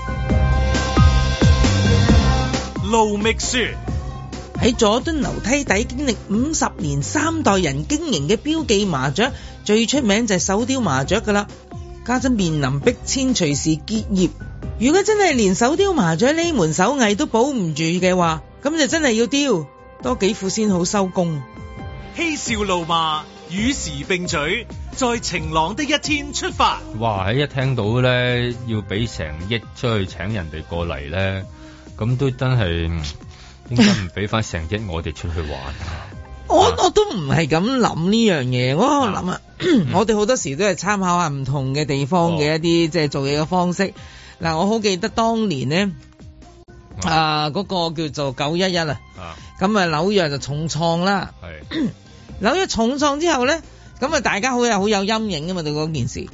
盧覓雪喺佐敦樓梯底經歷50年3代人經營嘅標記麻雀，最出名就係手雕麻雀噶啦。家陣面臨逼遷，隨時結業。如果真係連手雕麻雀呢門手藝都保唔住嘅話，咁就真係要雕多幾副先好收工。 嬉笑怒罵與時並舉，在晴朗的一天出發。 哇！一聽到咧要俾成億出去請人哋過嚟咧，咁都真係應該唔俾翻成億我哋出去玩啊！ 我都唔係咁諗呢樣嘢，我諗啊，我哋好多時都係參考下唔同嘅地方嘅一啲即係做嘢嘅方式。嗱，我好記得當年咧，嗰個叫做911啊，咁啊紐約就重創啦。紐約重創之後咧，咁啊大家好有陰影噶嘛對嗰件事。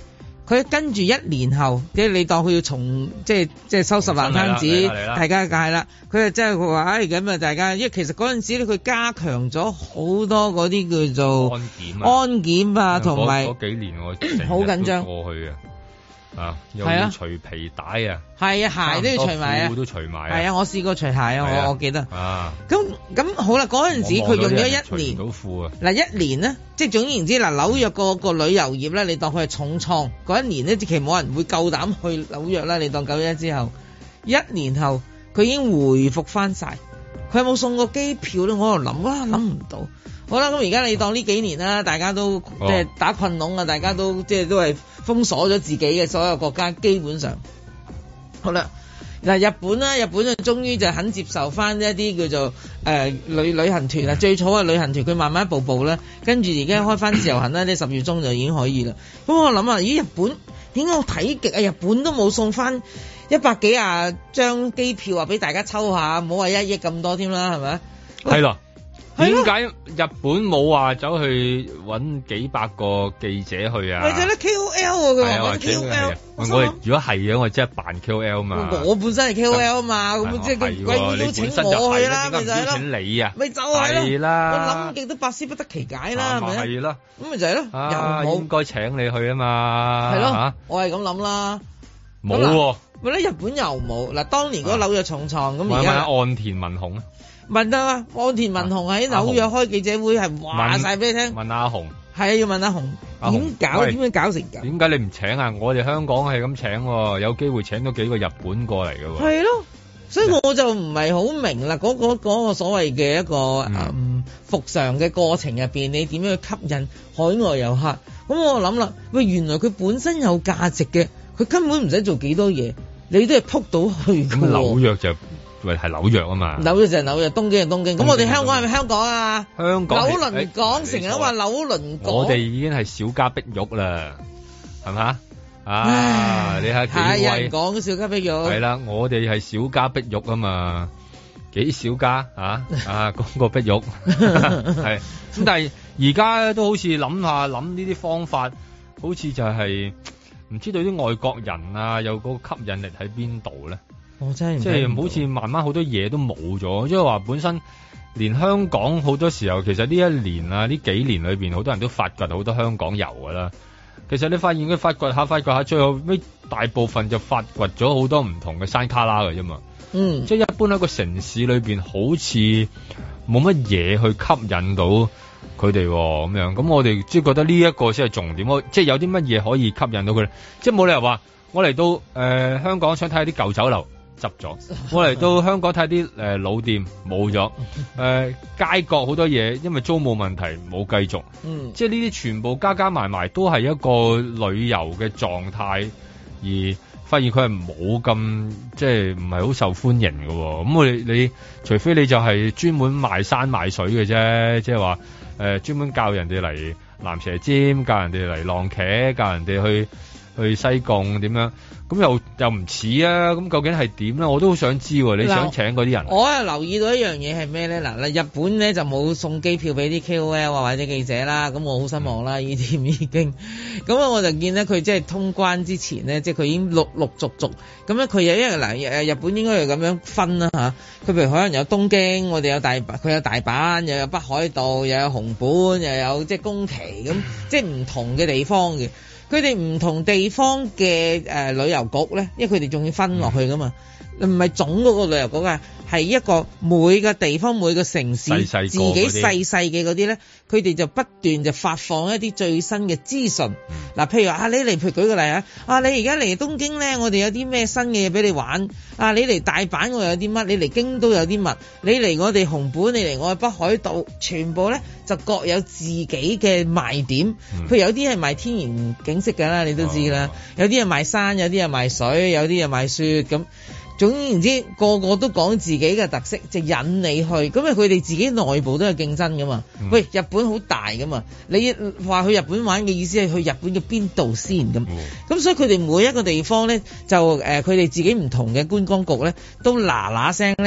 佢跟住1年後，即係你當佢要即係收拾爛攤子，大家係啦。佢就真係佢話，咁啊，大家，因為其實嗰陣時咧，佢加強咗好多嗰啲叫做安檢啊，同埋嗰幾年我好緊張過去又要除皮帶啊， 係啊，鞋都要除埋啊， 褲都除埋啊， 係啊，我試過除鞋啊，我記得咁好啦，嗰陣時佢用咗1年，嗱1年咧，即係總言之嗱，紐約個旅遊業咧，你當佢係重創嗰1年咧，其實冇人會夠膽去紐約啦。你當911之後1年後，佢已經回復翻晒。佢有冇送過機票咧？我喺度諗唔到。好啦，咁而家你當呢幾年啦，大家都即係打困籠啊，大家都即係都係封鎖咗自己嘅所有國家，基本上好啦。嗱，日本就終於就肯接受翻一啲叫做旅行團啊，最初嘅旅行團佢慢慢一步步咧，跟住而家開翻自由行啦，呢10月中就已經可以啦。咁我諗啊，咦，日本點解我睇極啊？日本都冇送翻100幾廿張機票啊，俾大家抽下，唔好話1億咁多添啦，係咪？ 係咯。點解日本冇話走去揾幾百個記者去啊？ 咪就係咧 KOL 佢話揾 KOL。 我哋如果係嘅，我即係扮 KOL 嘛。 我本身係 KOL 嘛，咁即係佢鬼邀請我去啦，咪就係咯。 請你啊？ 咪就係啦。我諗極都百思不得其解啦，係咪？係啦。 咁咪就係咯。又冇應該請你去啊嘛。 係咯。我係咁諗啦。 冇喎。 咪咧日本又冇嗱，當年嗰紐約重創咁而家。 岸田文雄啊。 問得啊，岸田文雄喺紐約開記者會係話晒俾你聽。 問阿雄， 係啊，要問阿雄點樣搞成咁？ 點解你唔請啊？我哋香港係咁請，有機會請到幾個日本過嚟嘅喎。 係咯，所以我就唔係好明啦。嗰個所謂嘅一個復常嘅過程入邊，你點樣去吸引海外遊客？咁我諗啦，喂，原來佢本身有價值嘅，佢根本唔使做幾多嘢，你都係撲到去嘅。 咁紐約就。喂，係紐約啊嘛， 紐約就係紐約，東京就東京。咁我哋香港係咪香港啊？ 香港紐倫港成日都話紐倫港， 我哋已經係小家碧玉啦，係咪？你睇幾威？ 有人講小家碧玉。 係啦，我哋係小家碧玉啊嘛，幾小家講個碧玉係。咁但係而家都好似諗呢啲方法，好似就係唔知道啲外國人啊，有個吸引力喺邊度咧？ 我真係即係好似慢慢好多嘢都冇咗，即係話本身連香港好多時候，其實呢一年啊，呢幾年裏邊好多人都發掘好多香港遊噶啦。其實你發現佢發掘下，最後尾大部分就發掘咗好多唔同嘅山卡拉嘅啫嘛。即係一般喺個城市裏邊，好似冇乜嘢去吸引到佢哋咁樣。咁我哋即係覺得呢一個先係重點，即係有啲乜嘢可以吸引到佢哋。即係冇理由話我嚟到香港想睇下啲舊酒樓。執咗，我嚟到香港睇啲老店冇咗，街角好多嘢，因為租務問題冇繼續，即係呢啲全部加埋都係一個旅遊嘅狀態，而發現佢係冇咁即係唔係好受歡迎嘅。咁你除非你就係專門賣山賣水嘅啫，即係話專門教人哋嚟蚺蛇尖，教人哋嚟浪茄，教人哋去西貢點樣。咁又唔似啊！咁究竟係點咧？我都好想知喎。你想請嗰啲人？ 我係留意到一樣嘢係咩咧？嗱，日本咧就冇送機票俾啲 KOL 啊或者記者啦，咁我好失望啦！呢啲已經咁啊，我就見咧佢即係通關之前咧，即係佢已經陸續咁咧，佢有因為嗱日本應該係咁樣分啦嚇。佢譬如可能有東京，我哋有佢有大阪，又有北海道，又有熊本，又有即係宮崎咁，即係唔同嘅地方嘅。佢哋唔同地方嘅旅遊局咧，因為佢哋仲要分落去噶嘛，唔係總嗰個旅遊局啊，係一個每個地方每個城市自己細嘅嗰啲咧，佢哋就不斷就發放一啲最新嘅資訊。嗱，譬如話你嚟，譬如舉個例啊，你而家嚟東京咧，我哋有啲咩新嘅嘢俾你玩。你嚟大阪我有啲乜，你嚟京都有啲乜，你嚟我哋熊本，你嚟我哋北海道，全部咧就各有自己嘅賣點。譬如有啲係賣天然景色㗎啦，你都知啦，有啲係賣山，有啲係賣水，有啲係賣雪咁。總言之，個個都講自己嘅特色，就引你去。咁啊，佢哋自己內部都係競爭噶嘛。喂，日本好大噶嘛，你話去日本玩嘅意思係去日本嘅邊度先咁？咁所以佢哋每一個地方咧，就佢哋自己唔同嘅觀光局咧，都嗱嗱聲咧就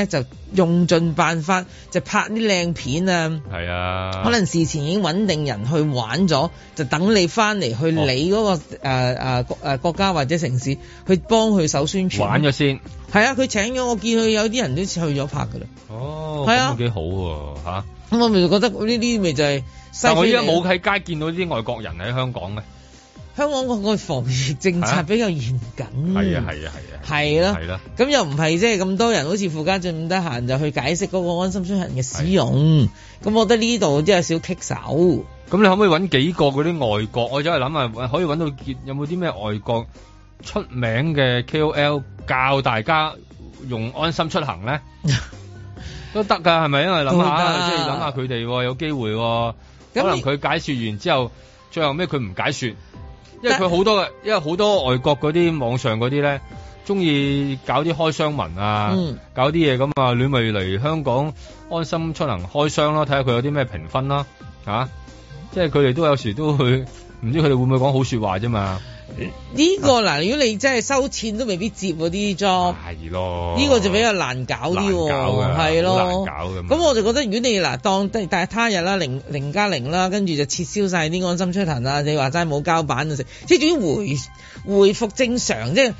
用盡辦法就拍啲靚片啊， 係啊， 可能事前已經穩定人去玩咗，就等你翻嚟去你嗰個國家或者城市去幫佢手宣傳， 玩咗先。 係啊，佢請咗，我見佢有啲人都去咗拍噶啦。 哦， 係啊， 咁幾好喎嚇。 咁我咪就覺得呢啲咪就係。 但我依家冇喺街見到啲外國人喺香港嘅。 香港個防疫政策比較嚴謹，係咯，咁又唔係即係咁多人好似傅家俊咁得閒就去解釋嗰個安心出行嘅使用，咁我覺得呢度都有少棘手。咁你可唔可以揾幾個嗰啲外國？我走去諗下，可以揾到有冇啲咩外國出名嘅 KOL 教大家用安心出行咧？都得㗎，係咪？因為諗下，即係諗下佢哋有機會，可能佢解説完之後，最後尾佢唔解説。因為佢好多嘅，因為好多外國嗰啲網上嗰啲咧，中意搞啲開箱文啊，搞啲嘢咁啊，你咪嚟香港安心出行開箱咯，睇下佢有啲咩評分啦，即係佢哋都有時都會，唔知佢哋會唔會講好說話啫嘛？ 呢個嗱，如果你真係收錢都未必接嗰啲 job， 係咯， 呢個就比較難搞啲喎，係咯，咁我就覺得如果你嗱當但係他日啦0+0啦，跟住就撤銷晒啲安心出行啦，你話齋冇膠板就食，即係總之回復正常，即係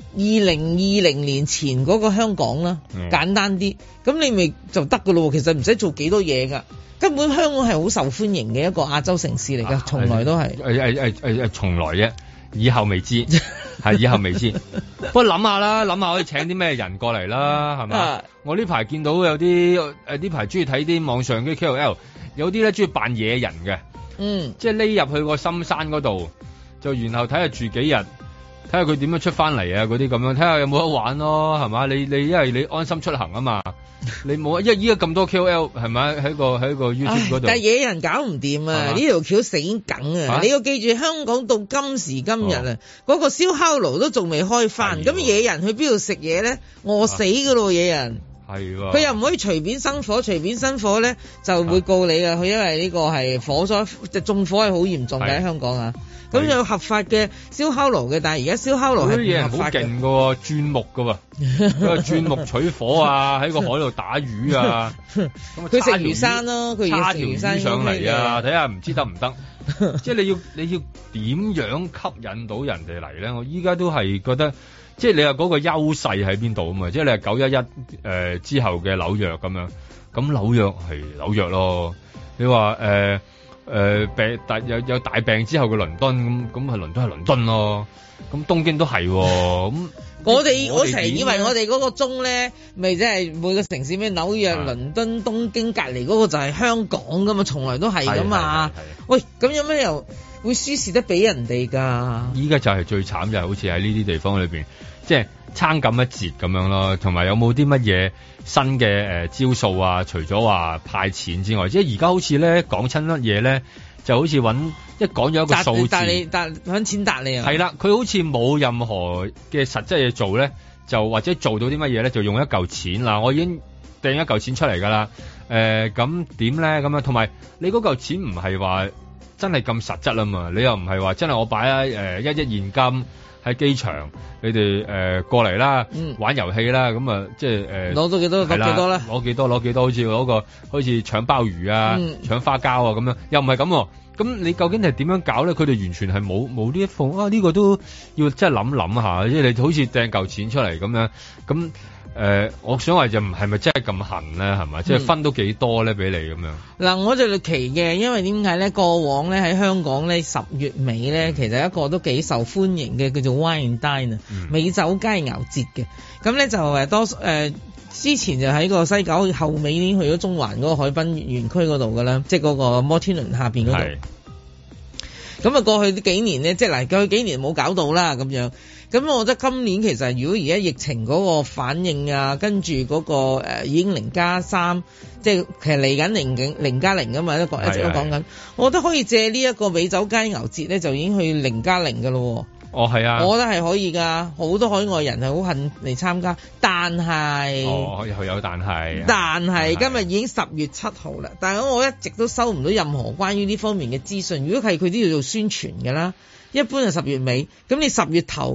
2020年前嗰個香港啦，簡單啲，咁你咪就得噶咯，其實唔使做幾多嘢噶。根本香港係好受歡迎嘅一個亞洲城市嚟噶，從來都係從來啫。以後未知，係以後未知。不過諗下可以請啲咩人過嚟啦，係嘛？我呢排見到有啲呢排中意睇啲網上啲 KOL，有啲咧中意扮野人嘅，即係匿入去個深山嗰度，就然後睇下住幾日，睇下佢點樣出翻嚟啊嗰啲咁樣，睇下有冇得玩咯，係嘛？你因為你安心出行啊嘛。你冇啊！因為依家咁多 KOL 係咪喺個 YouTube 嗰度？ 但係野人搞唔掂啊！呢條橋死梗啊！你要記住，香港到今時今日啊，嗰個燒烤爐都仲未開翻，咁野人去邊度食嘢咧？餓死噶咯！野人係喎， 佢又唔可以隨便生火，隨便生火咧就會告你啊！佢因為呢個係火災，即係縱火係好嚴重嘅喺香港啊！咁有合法嘅燒烤爐嘅，但係而家燒烤爐係唔合法嘅。好勁㗎喎，鑽木㗎喎，佢鑽木取火啊，喺個海度打魚啊，咁佢食魚生咯，佢叉條魚上嚟啊，睇下唔知得唔得？即係你要點樣吸引到人哋嚟咧？我依家都係覺得，即係你話嗰個優勢喺邊度啊嘛？即係你係911之後嘅紐約咁樣，咁紐約係紐約咯。你話病有大病之後嘅倫敦咁係倫敦係倫敦咯，咁東京都係咁。我成日以為我哋嗰個鐘咧，咪即係每個城市咩紐約、倫敦、東京隔離嗰個就係香港噶嘛，從來都係噶嘛。喂，咁有咩又會輸蝕得俾人哋㗎？依家就係最慘就係好似喺呢啲地方裏邊，即係撐咁一截咁樣咯，同埋有冇啲乜嘢新嘅招數啊？除咗話派錢之外，即係而家好似咧講親乜嘢咧，就好似一講咗一個數字， 揾錢答你啊！ 係啦，佢好似冇任何嘅實質嘢做咧，就或者做到啲乜嘢咧，就用一嚿錢嗱，我已經掟一嚿錢出嚟㗎啦。咁點咧？咁樣同埋你嗰嚿錢唔係話真係咁實質啊嘛？你又唔係話真係我擺1億現金喺機場，你哋過嚟啦，玩遊戲啦，咁啊即係攞到幾多攞幾多啦？ 攞幾多，好似好似搶鮑魚啊、搶花膠啊咁樣，又唔係咁。咁你究竟係點樣搞咧？佢哋完全係冇呢一封啊！呢個都要真係諗下，即係你好似掟嚿錢出嚟咁樣。咁我想話就唔係咪真係咁痕咧？係咪？即係分到幾多咧？俾你咁樣。嗱， 我就奇嘅，因為點解咧？過往咧喺香港咧10月尾咧，其實一個都幾受歡迎嘅叫做 Wine and Dine 美酒佳肴節嘅。咁咧就之前就喺個西九後尾已經去咗中環嗰個海濱園區嗰度噶啦，即係嗰個摩天輪下邊嗰度。咁啊，過去幾年咧，即係嗱，過去幾年冇搞到啦咁樣。咁我覺得今年其實如果而家疫情嗰個反應啊，跟住嗰個已經0+3，即係其實嚟緊0+0噶嘛，一直都講緊。我覺得可以借呢一個美酒佳肴節咧，就已經去0+0噶咯。 哦，係啊， 我覺得係可以噶，好多海外人係好恨嚟參加，但係有但係今日已經10月7號啦，但係我一直都收唔到任何關於呢方面嘅資訊。如果係佢都要做宣傳㗎啦，一般係10月尾，咁你10月頭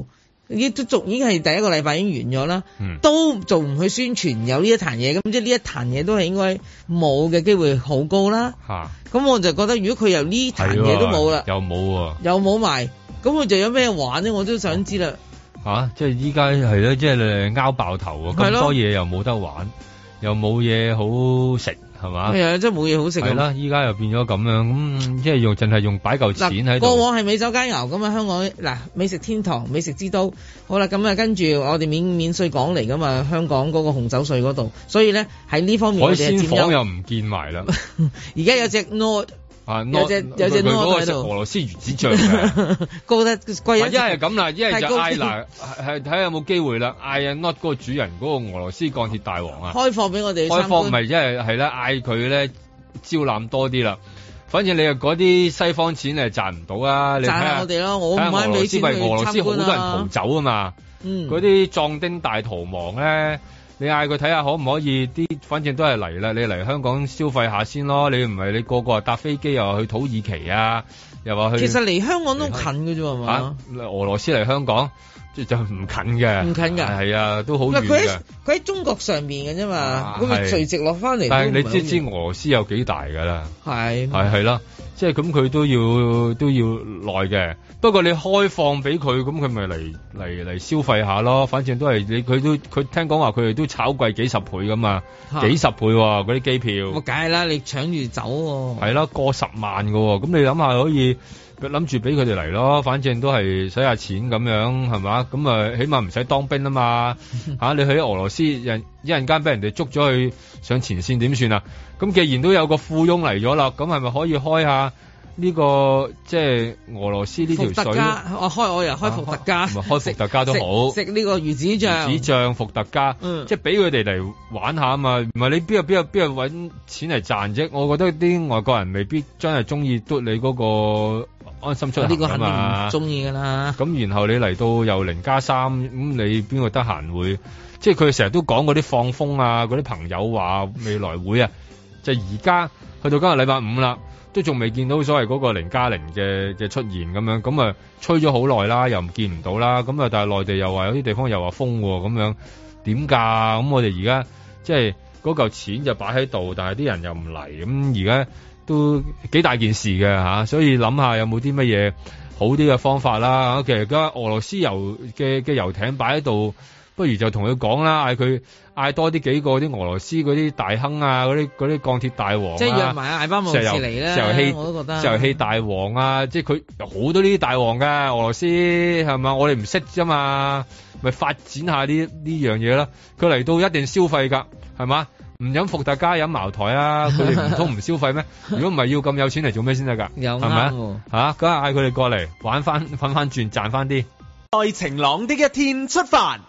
已經係第一個禮拜已經完咗啦，都做唔去宣傳有呢一壇嘢，咁即係呢一壇嘢都係應該冇嘅機會好高啦。咁我就覺得如果佢由呢壇嘢都冇啦，又冇埋，咁佢就有咩玩咧？我都想知啦。 即係依家係咧，即係拗爆頭啊！咁多嘢又冇得玩，又冇嘢好食。係嘛？係啊， 真係冇嘢好食。 係啦，依家又變咗咁樣，咁即係淨係用擺嚿錢喺度。 過往係美酒佳餚咁啊，香港嗱美食天堂、美食之都。好啦，咁啊跟住我哋免稅港嚟噶嘛，香港嗰個紅酒稅嗰度，所以咧喺呢方面我哋係佔優。海鮮舫又唔見埋啦。而家有隻 Nord。有隻 Nord 喺度， 俄羅斯魚子醬嘅， 高得貴一。 一係咁啦，一係就嗌嗱，係睇下有冇機會啦，嗌 Nord 嗰個主人嗰個俄羅斯鋼鐵大王啊， 開放俾我哋。 開放咪一係啦，嗌佢咧招攬多啲啦。反正你又嗰啲西方錢係賺唔到啊，你睇下我哋咯，我唔買俾錢去參觀啊。俄羅斯好多人逃走啊嘛，嗰啲壯丁大逃亡咧。你嗌佢睇下可唔可以反正都係嚟啦，你嚟香港消費下先咯。你唔係你個個搭飛機又話去土耳其啊，又話去。其實嚟香港都近嘅啫係嘛？俄羅斯嚟香港就唔近嘅，唔近㗎。係啊，都好遠嘅。佢喺中國上面嘅啫嘛，咁咪垂直落翻嚟。但係你知俄羅斯有幾大㗎啦？係啦，即係咁佢都要耐嘅。不過你開放俾佢，咁佢咪嚟消費下咯。反正都係佢聽講話佢哋都炒貴幾十倍㗎嘛，幾十倍喎嗰啲機票。我梗係啦，你搶住走喎。係啦，過10萬㗎喎。咁你諗下可以諗住俾佢哋嚟咯。反正都係使下錢咁樣係嘛？咁啊起碼唔使當兵啊嘛。你去俄羅斯一陣間俾人哋捉咗去上前線點算啊？咁既然都有個富翁嚟咗啦，咁係咪可以開下？呢個即係俄羅斯呢條水，我又開伏特加，開伏特加都好，食呢個魚子醬伏特加，即係俾佢哋嚟玩下啊嘛，唔係你邊度揾錢嚟賺啫？我覺得啲外國人未必真係中意嘟你嗰個安心出行啊嘛，呢個肯定唔中意噶啦。咁然後你嚟到又0+3，咁你邊個得閒會？即係佢成日都講嗰啲放風啊，嗰啲朋友話未來會啊，就而家去到今日禮拜5啦。都仲未見到所謂嗰個0+0嘅出現咁樣，咁啊吹咗好耐啦，又唔見唔到啦，咁啊但係內地又話有啲地方又話封咁樣，點㗎？咁我哋而家即係嗰嚿錢就擺喺度，但係啲人又唔嚟，咁而家都幾大件事嘅嚇，所以諗下有冇啲乜嘢好啲嘅方法啦。其實而家俄羅斯嘅遊艇擺喺度，不如就同佢講啦，嗌多啲幾個啲俄羅斯嗰啲大亨啊，嗰啲鋼鐵大王啊，即係約埋艾巴莫士嚟咧，我都覺得石油氣大王啊，即係佢有好多呢啲大王㗎，俄羅斯係嘛？我哋唔識啫嘛，咪發展下呢樣嘢啦。佢嚟到一定消費㗎，係嘛？唔飲伏特加飲茅台啊，佢哋唔通唔消費咩？如果唔係要咁有錢嚟做咩先得㗎？係咪啊？咁嗌佢哋過嚟玩翻瞓翻轉賺翻啲。在晴朗的一天出發。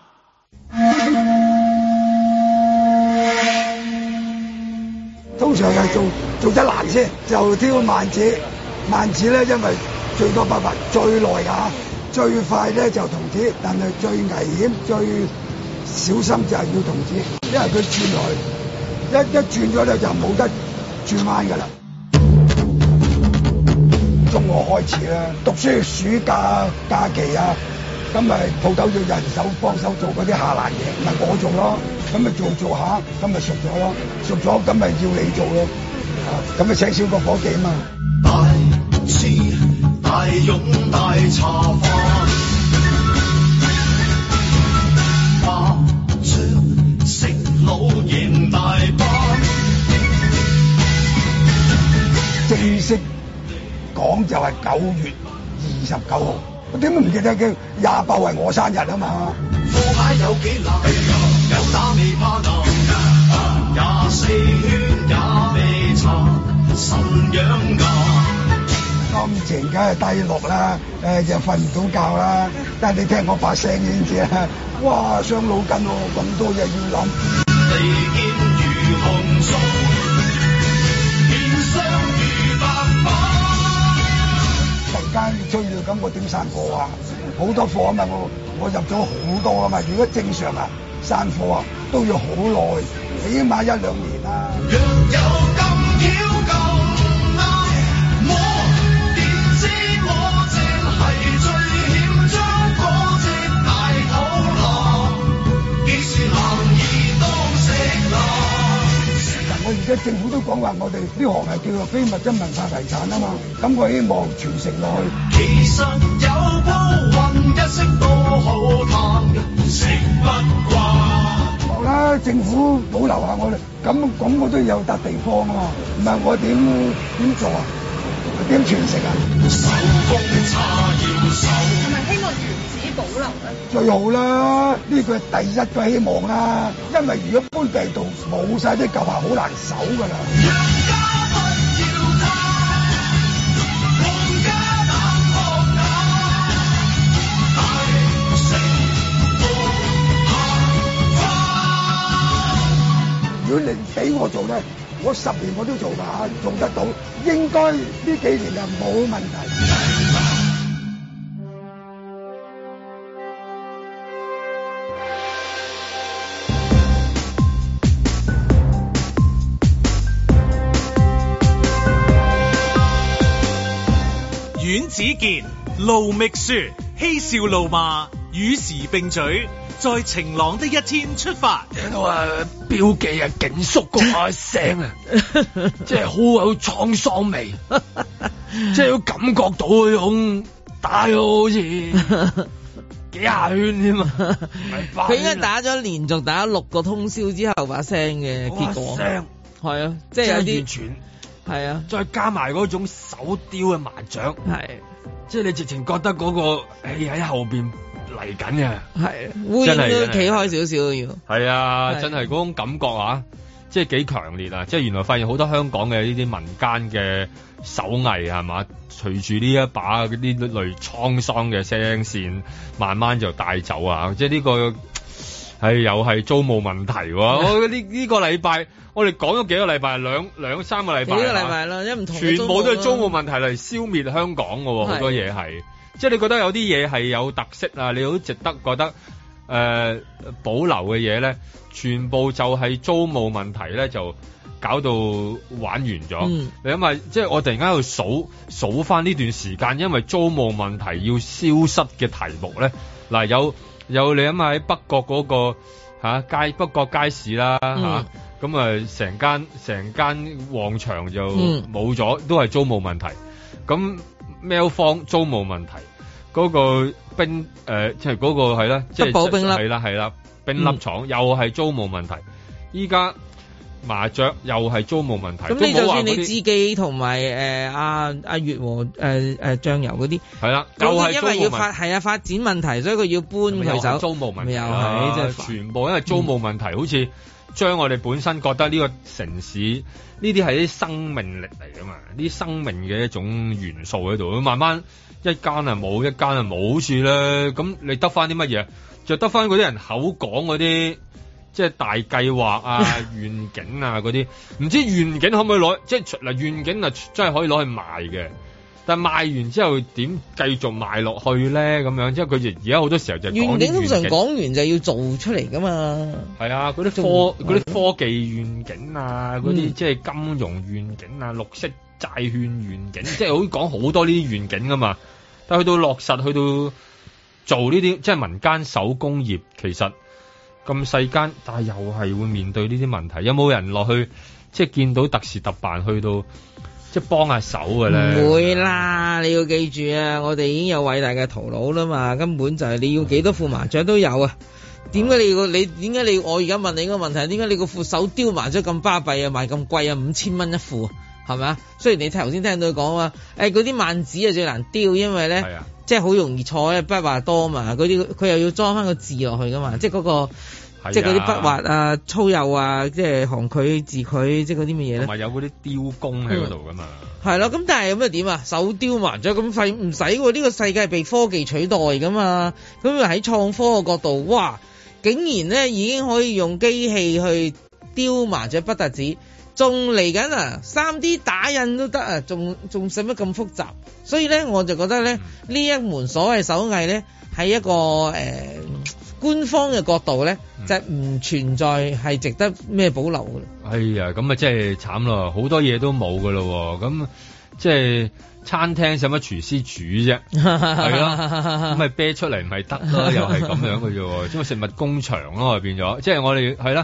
通常係做得難先，就挑慢子。慢子咧，因為最多辦法，最耐㗎，最快咧就童子，但係最危險、最小心就係要童子，因為佢轉來一轉咗咧就冇得轉彎㗎啦。中學開始啦，讀書暑假假期啊。咁咪鋪頭要人手幫手做嗰啲下欄嘢，咪我做咯。咁咪做下，咁咪熟咗咯。熟咗咁咪要你做咯。咁咪請少個伙計啊嘛。大慈大勇大茶飯，麻雀食老贏大班。正式講就係9月29號。我點都唔記得嘅，28係我生日啊嘛。副牌有幾難，有打未怕難，24圈也未查，神養眼。心情梗係低落啦，又瞓唔到覺啦。但係你聽我把聲已經知啦，哇傷腦筋喎，咁多嘢要諗。利劍如紅燭，面相如白髮。突然間追到咁，我點散貨啊？好多貨啊嘛，我入咗好多啊嘛。如果正常啊，散貨啊都要好耐，起碼1-2年啦。若有咁巧咁啱，我點知我正係最險將嗰隻大家政府都講話，我哋呢行係叫做非物質文化遺產啊嘛，咁我希望傳承落去。其實有鋪雲一色都好貪嘅，食不慣。好啦，政府保留下我哋，咁我都有笪地方啊嘛，唔係我點做啊？點傳承啊？手工叉要手，係咪希望原址保留咧？最好啦，呢個係第一個希望啦。因為如果搬地度冇晒啲舊鞋，好難守噶啦。如果你俾我做咧，我10年我都做㗎，做得到，應該呢幾年就冇問題。 阮子健、盧覓雪，嬉笑怒罵，與時並舉。在晴朗的一天出發， 聽到標記警叔嗰下聲啊，即係好有滄桑味，即係要感覺到嗰種打咗好似幾下圈添啊！ 佢應該打咗連續打6個通宵之後把聲嘅結果，聲係啊，即係有啲完全係啊， 再加埋嗰種手雕嘅麻雀，係即係你直情覺得嗰個喺後邊。嚟緊嘅係烏蠅都企開少少要係啊，真係嗰種感覺啊，即係幾強烈啊！即係原來發現好多香港嘅呢啲民間嘅手藝係嘛，隨住呢一把嗰啲類滄桑嘅聲線，慢慢就帶走啊！即係呢個係又係租務問題喎。我呢個禮拜我哋講咗幾個禮拜，兩三個禮拜，幾個禮拜啦，因為唔同全部都係租務問題嚟消滅香港嘅喎，好多嘢係。即係你覺得有啲嘢係有特色啊，你好值得覺得保留嘅嘢咧，全部就係租務問題咧，就搞到玩完咗。你諗下，即係我突然間喺度數翻呢段時間，因為租務問題要消失嘅題目咧，嗱有你諗下喺北角嗰個北角街市啦嚇，咁成間旺場就冇咗，都係租務問題。咁喵坊租務問題，嗰個冰即係嗰個係啦，即係德寶冰粒係啦，冰粒廠又係租務問題。依家麻雀又係租務問題。咁你就算你志記同埋阿月和醬油嗰啲係啦，又係因為要發展問題，所以佢要搬佢走。租務問題又係即係全部因為租務問題，好似將我哋本身覺得呢個城市呢啲係啲生命力嚟㗎嘛，啲生命嘅一種元素喺度，慢慢一間啊冇，一間啊冇，好似咧咁你得翻啲乜嘢？就得翻嗰啲人口講嗰啲，即係大計劃啊、願景啊嗰啲，唔知願景可唔可以攞？即係嗱，願景啊真係可以攞去賣嘅。但賣完之後點繼續賣落去咧？咁樣即係佢而家好多時候就講願景，通常講完就要做出嚟噶嘛。係啊，嗰啲科技願景啊，嗰啲即係金融願景啊、綠色債券願景，即係好講好多呢啲願景噶嘛。但係去到落實，去到做呢啲即係民間手工業，其實咁細間，但係又係會面對呢啲問題。有冇人落去即係見到特事特辦去到？即係幫下手嘅咧，唔會啦！你要記住啊，我哋已經有偉大嘅頭腦啦嘛，根本就係你要幾多副麻雀都有啊！點解你我而家問你個問題，點解你個副手雕麻雀咁巴閉啊，賣咁貴啊，5000蚊一副，係咪啊？雖然你頭先聽到佢講話，嗰啲萬字啊最難雕，因為咧，即係好容易錯咧，筆畫多嘛，嗰啲佢又要裝翻個字落去噶嘛，即係嗰個。即係嗰啲筆畫啊、粗幼啊、即係行距、字距，即係嗰啲乜嘢咧？同埋有嗰啲雕工喺嗰度噶嘛？係咯，咁但係咁又點啊？手雕麻雀咁廢唔使喎？呢個世界係被科技取代噶嘛？咁喺創科嘅角度，哇！竟然咧已經可以用機器去雕麻雀不特止，仲嚟緊啊！3D 打印都得啊，仲使乜咁複雜？所以咧，我就覺得咧，呢一門所謂手藝咧，係一個官方嘅角度咧，就唔存在係值得咩保留嘅。哎呀，咁啊真係慘咯，好多嘢都冇㗎咯，咁即係餐廳使乜廚師煮啫？係咯，咁咪啤出嚟咪得咯，又係咁樣嘅啫，即係食物工場咯，變咗，即係我哋係啦，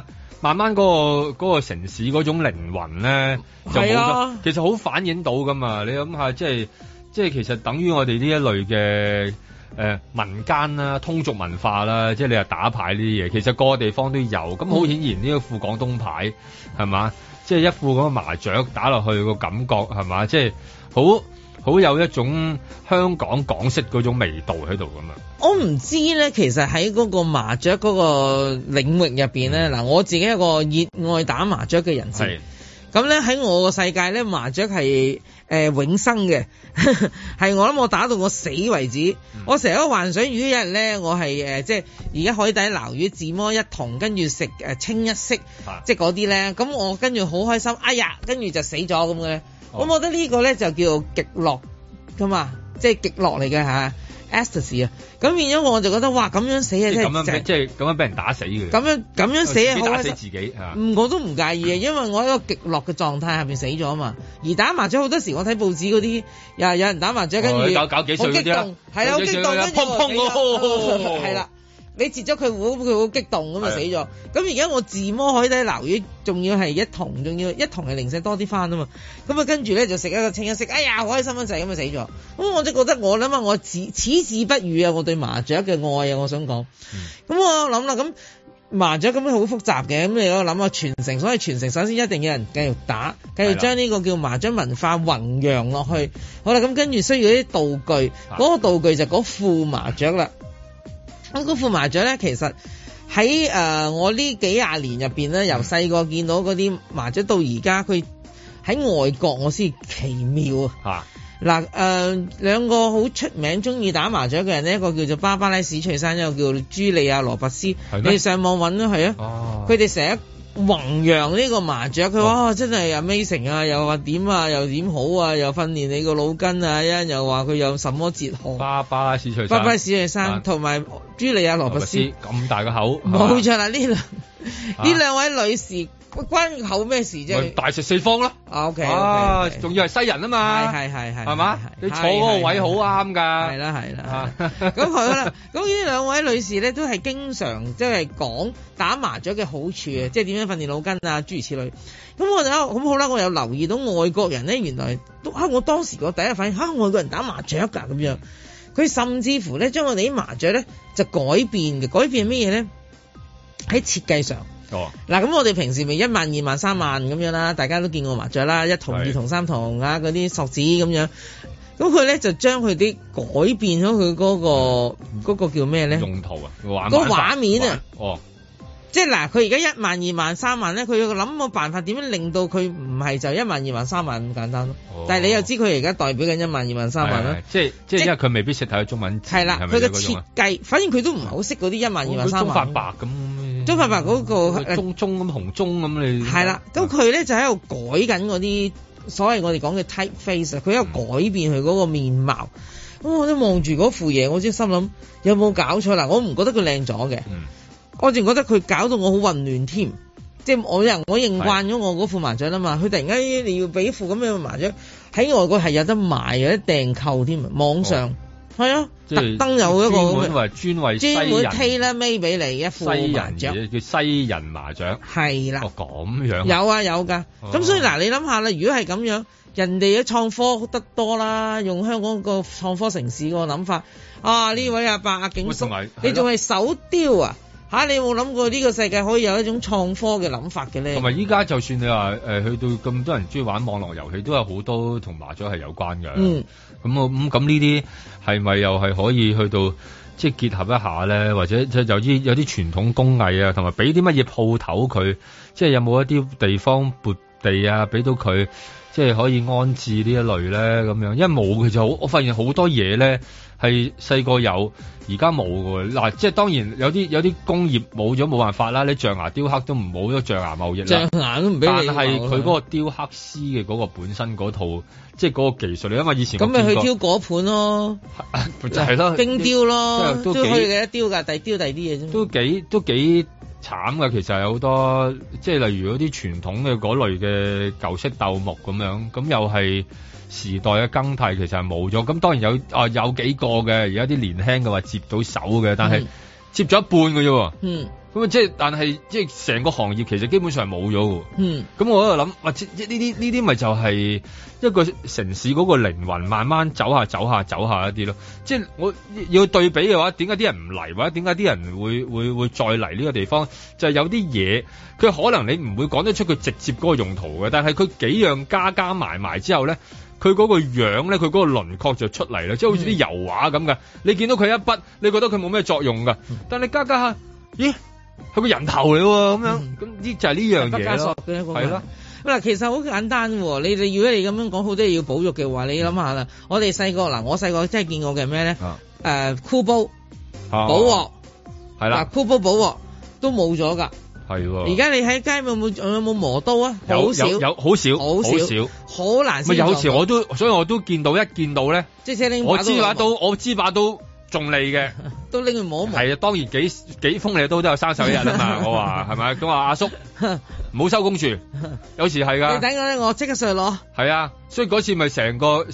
慢慢嗰個城市嗰種靈魂咧就冇咗，其實好反映到噶嘛。你諗下，即係其實等於我哋呢一類嘅民間啦、通俗文化啦，即係你話打牌呢啲嘢，其實個個地方都有。咁好顯然呢個副廣東牌係嘛，即係一副嗰個麻雀打落去個感覺係嘛，即係好有一種香港港式嗰種味道喺度㗎嘛。 我唔知咧，其實喺嗰個麻雀嗰個領域入邊咧，嗱，我自己一個熱愛打麻雀嘅人士，咁咧喺我個世界咧，麻雀係永生嘅，係我諗我打到我死為止。我成日都幻想，如果有一日咧，我係即係而家海底撈魚自摸一筒，跟住食清一色，即係嗰啲咧，咁我跟住好開心，哎呀，跟住就死咗咁嘅咧。我覺得呢個咧就叫做極樂噶嘛，即係極樂嚟嘅嚇 ecstasy 啊。咁變咗我就覺得哇，咁樣死啊，即係咁樣俾人打死嘅。 咁樣死啊，好打死自己嚇。 我都唔介意啊，因為我喺個極樂嘅狀態下邊死咗啊嘛。而打麻雀好多時，我睇報紙嗰啲有人打麻雀，跟住搞幾歲嗰啲啦， 係啊，好激動，跟住係啦。你截咗佢佢好激動咁就死咗。咁而家我自摸海底撈魚，仲要係一筒，仲要一筒係零舍多啲翻啊嘛。咁啊跟住咧就食一個清一色，哎呀好開心一陣咁就死咗。咁我就覺得我諗下我矢志不渝啊，我對麻雀嘅愛啊，我想講。咁我諗啦，咁麻雀咁樣好複雜嘅，咁你我諗下傳承，所以傳承首先一定有人繼續打，繼續將呢個叫麻雀文化弘揚落去。好啦，咁跟住需要啲道具，嗰個道具就嗰副麻雀啦。咁嗰副麻雀咧，其實喺我呢幾廿年入邊咧，由細個見到嗰啲麻雀到而家，佢喺外國我先奇妙啊！嗱兩個好出名中意打麻雀嘅人呢，一個叫做芭芭拉史翠珊，一個叫做朱莉亞羅伯斯。你哋上網揾啦，係啊，佢哋成日弘揚呢個麻雀，佢話真係 amazing 啊，又話點啊，又點好啊，又訓練你個腦筋啊，又話佢有什麼哲學。芭芭拉史翠珊同埋朱莉亞羅伯斯咁大個口， 冇錯啦！呢兩位女士關口咩事啫？ 大食四方咯。 OK， 仲要係西人啊嘛，係嘛？你坐嗰個位好啱噶。係啦。咁好啦，咁呢兩位女士咧都係經常即係講打麻雀嘅好處啊，即係點樣訓練腦筋啊，諸如此類。咁好啦，我有留意到外國人咧，原來都我當時個第一反應外國人打麻雀㗎咁樣。佢甚至乎咧將我哋啲麻雀咧就改變嘅，改變係咩嘢咧？喺設計上。嗱，咁我哋平時咪1萬、2萬、3萬咁樣啦，大家都見過麻雀啦，一筒、2筒、3筒啊，嗰啲索子咁樣。咁佢咧就將佢啲改變咗佢嗰個叫咩咧？ 用途啊， 個畫面啊。即係嗱，佢而家1萬、2萬、3萬咧，佢要諗個辦法點樣令到佢唔係就1萬、2萬、3萬咁簡單咯。但係你又知佢而家代表緊1萬、2萬、3萬啦。即係因為佢未必識睇中文字。 係啦，佢嘅設計，反正佢都唔係好識嗰啲1萬、2萬、3萬。 中發白咁。 中發白嗰個中咁紅中咁你。 係啦，咁佢咧就喺度改緊嗰啲所謂我哋講嘅 typeface，佢喺度改變佢嗰個面貌。咁我都望住嗰副嘢，我先心諗有冇搞錯嗱？我唔覺得佢靚咗嘅。我淨覺得佢搞到我好混亂添，即係我認慣咗我嗰副麻雀啦嘛，佢突然間你要俾副咁樣嘅麻雀喺外國係有得賣，有得訂購添，網上係啊，特登有一個專為西人 tailor-made 俾你一副麻雀， 叫西人麻雀， 係啦， 咁樣有㗎，咁所以嗱你諗下啦，如果係咁樣，人哋嘅創科得多啦，用香港個創科城市個諗法，呢位阿伯阿景叔，你仲係手雕啊？你有冇諗過呢個世界可以有一種創科嘅諗法嘅咧？ 同埋依家就算你話去到咁多人中意玩網絡遊戲，都有好多同麻雀係有關嘅。咁呢啲係咪又係可以去到即係結合一下咧？或者即係有啲傳統工藝啊，同埋俾啲乜嘢鋪頭佢，即係有冇一啲地方撥地啊，俾到佢即係可以安置呢一類咧咁樣？因為冇佢就好，我發現好多嘢咧係細個有。而家冇㗎嗱，即係當然有啲工業冇咗冇辦法啦，你象牙雕刻都唔冇咗象牙貿易啦， 象牙都唔俾你。 但係佢嗰個雕刻師嘅嗰個本身嗰套，即係嗰個技術，你因為以前咁咪去挑果盤咯， 就係咯， 冰雕咯，都可以嘅，雕㗎，雕第啲嘢啫。 都幾慘㗎，其實有好多即係例如嗰啲傳統嘅嗰類嘅舊式鬥木咁樣，咁又係。時代嘅更替其實係冇咗，咁當然有幾個嘅，而家啲年輕嘅話接到手嘅，但係接咗一半嘅啫喎。 咁即係，但係即係成個行業其實基本上係冇咗喎。咁我喺度諗，或者呢啲咪就係一個城市嗰個靈魂慢慢走下一啲咯。即係我要對比嘅話，點解啲人唔嚟，或者點解啲人會再嚟呢個地方？就係有啲嘢，佢可能你唔會講得出佢直接嗰個用途嘅，但係佢幾樣加埋之後咧，佢嗰個樣咧，佢嗰個輪廓就出嚟啦，即係好似啲油畫咁嘅。你見到佢一筆，你覺得佢冇咩作用㗎，但你加下，咦？係個人頭嚟喎，咁樣咁呢就係呢樣嘢咯，係咯。 嗱，其實好簡單喎。你哋如果你咁樣講好多嘢要保育嘅話，你諗下啦。我哋細個我細個真係見過嘅咩咧？箍煲、寶鑊係啦，箍煲、寶鑊都冇咗㗎。係喎。而家你喺街有冇磨刀啊？好少， 好少，好難。咪有時所以我都見到一見到咧， 即係我知把刀。仲利嘅， 都拎去摸。 係啊，當然幾鋒利嘅刀都有生手一日啊嘛。我話係咪？咁話阿叔唔好收工住，有時係㗎。 你等我咧，我即刻上去攞。 係啊，所以嗰次咪成個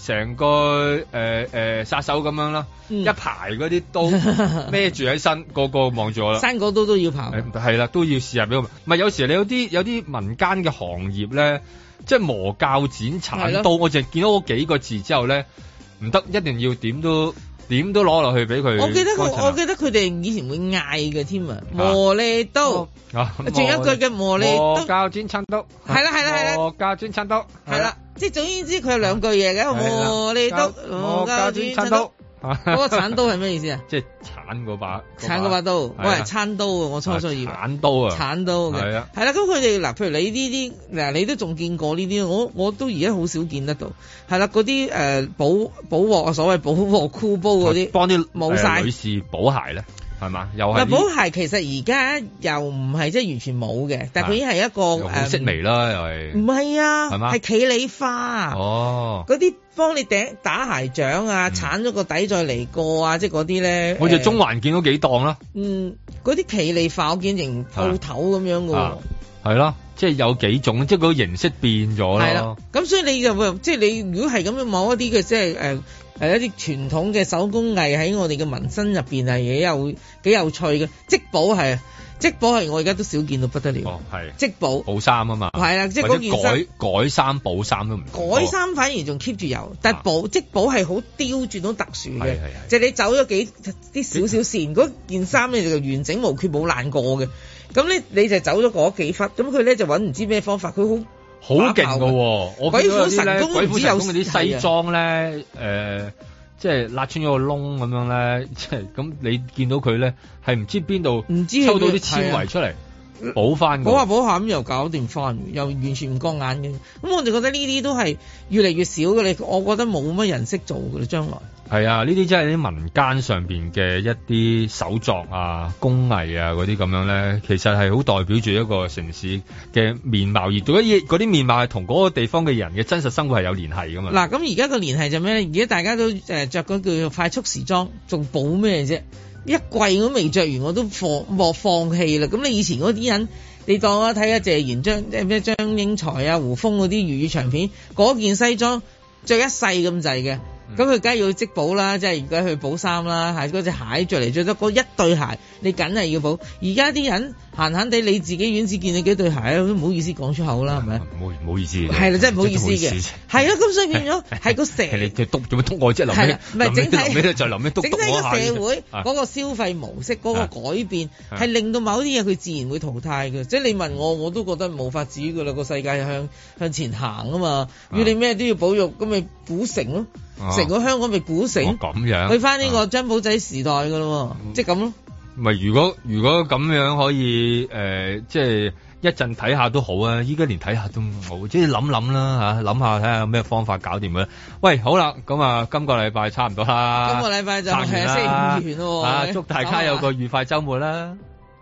殺手咁樣啦，一排嗰啲刀孭住喺身，個個望住我啦。 生果刀都要刨。 係啦，都要試下俾我。唔係有時你有啲民間嘅行業咧，即係磨鉸剪鏟刀，我淨係見到嗰幾個字之後咧，唔得，一定要點都攞落去俾佢。 我記得佢哋以前會嗌嘅添啊，磨利刀，仲有一句嘅磨利刀。 磨鉸剪鏟刀。係啦。磨鉸剪鏟刀。係啦， 即係總言之，佢有兩句嘢嘅，磨利刀、磨鉸剪鏟刀。嗰個鏟刀係咩意思啊？ 即係鏟嗰把刀，我係餐刀啊！我初初以為鏟刀啊， 鏟刀嘅係啦。咁佢哋嗱，譬如你呢啲嗱，你都仲見過呢啲，我都而家好少見得到。係啦，嗰啲補鑊啊，所謂補鑊箍煲嗰啲， 幫啲冇晒女士補鞋咧，係嘛？又係補鞋，其實而家又唔係即係完全冇嘅，但係佢已經係一個好式微啦，又係唔係啊？ 係嘛？ 係企理花嗰啲。幫你打鞋掌啊，鏟咗個底再嚟過啊，即係嗰啲咧。 我哋中環見到幾檔啦。 嗰啲企理化我見成鋪頭咁樣嘅喎。 係咯，即係有幾種，即係嗰個形式變咗啦。係啦， 咁所以你就即係你如果係咁樣某一啲嘅即係一啲傳統嘅手工藝喺我哋嘅民生入邊係幾有趣嘅，織補係。織補係我而家都少見到不得了。哦，係織補補衫啊嘛。係啦，即係嗰件衫改衫補衫都唔改衫，反而仲 keep 住有，但係織補係好刁鑽好特殊嘅，即係你走咗啲少少線，嗰件衫咧就完整無缺冇爛過嘅。咁你就走咗嗰幾忽，咁佢咧就揾唔知咩方法，佢好勁㗎喎。鬼斧神工唔知有嗰啲西裝咧即係辣穿咗個窿咁樣咧，即係咁你見到佢咧係唔知邊度抽到啲纖維出嚟補翻，補下咁又搞掂翻，又完全唔覺眼嘅。咁我就覺得呢啲都係越嚟越少嘅，我覺得冇乜人識做嘅啦，將來。係啊，呢啲真係啲民間上邊嘅一啲手作啊、工藝啊嗰啲咁樣咧，其實係好代表住一個城市嘅面貌，而嗰啲面貌係同嗰個地方嘅人嘅真實生活係有聯繫噶嘛。嗱，咁而家個聯繫就咩咧？而家大家都着嗰叫做快速時裝，仲補咩啫？一季我都未着完，我都放棄啦。咁你以前嗰啲人，你當我睇下謝賢張英才啊、胡楓嗰啲粵語長片，嗰件西裝着一世咁滯嘅。咁佢梗係要織補啦，即係而家去補衫啦，係嗰隻鞋着嚟着得嗰一對鞋，你梗係要補。而家啲人閒地，你自己院子見你幾對鞋都唔好意思講出口啦，係咪？唔好意思，係啦，真係唔好意思嘅，係咯。咁所以變咗係個社，你督做乜督我啫？係啦，唔係整體就臨尾督我下。整體個社會嗰個消費模式嗰個改變係令到某啲嘢佢自然會淘汰嘅。即係你問我都覺得冇法子㗎啦。個世界向前行啊嘛，要你咩都要保育，咁咪古城咯。成個香港咪古城，咁樣去翻呢個張寶仔時代噶咯，即係咁咯。唔係如果咁樣可以即係一陣睇下都好啊！依家連睇下都冇，即係諗啦嚇，諗下睇下有咩方法搞掂佢。喂，好啦，咁啊，今個禮拜差唔多啦。今個禮拜就係星期五完咯。啊，祝大家有個愉快週末啦！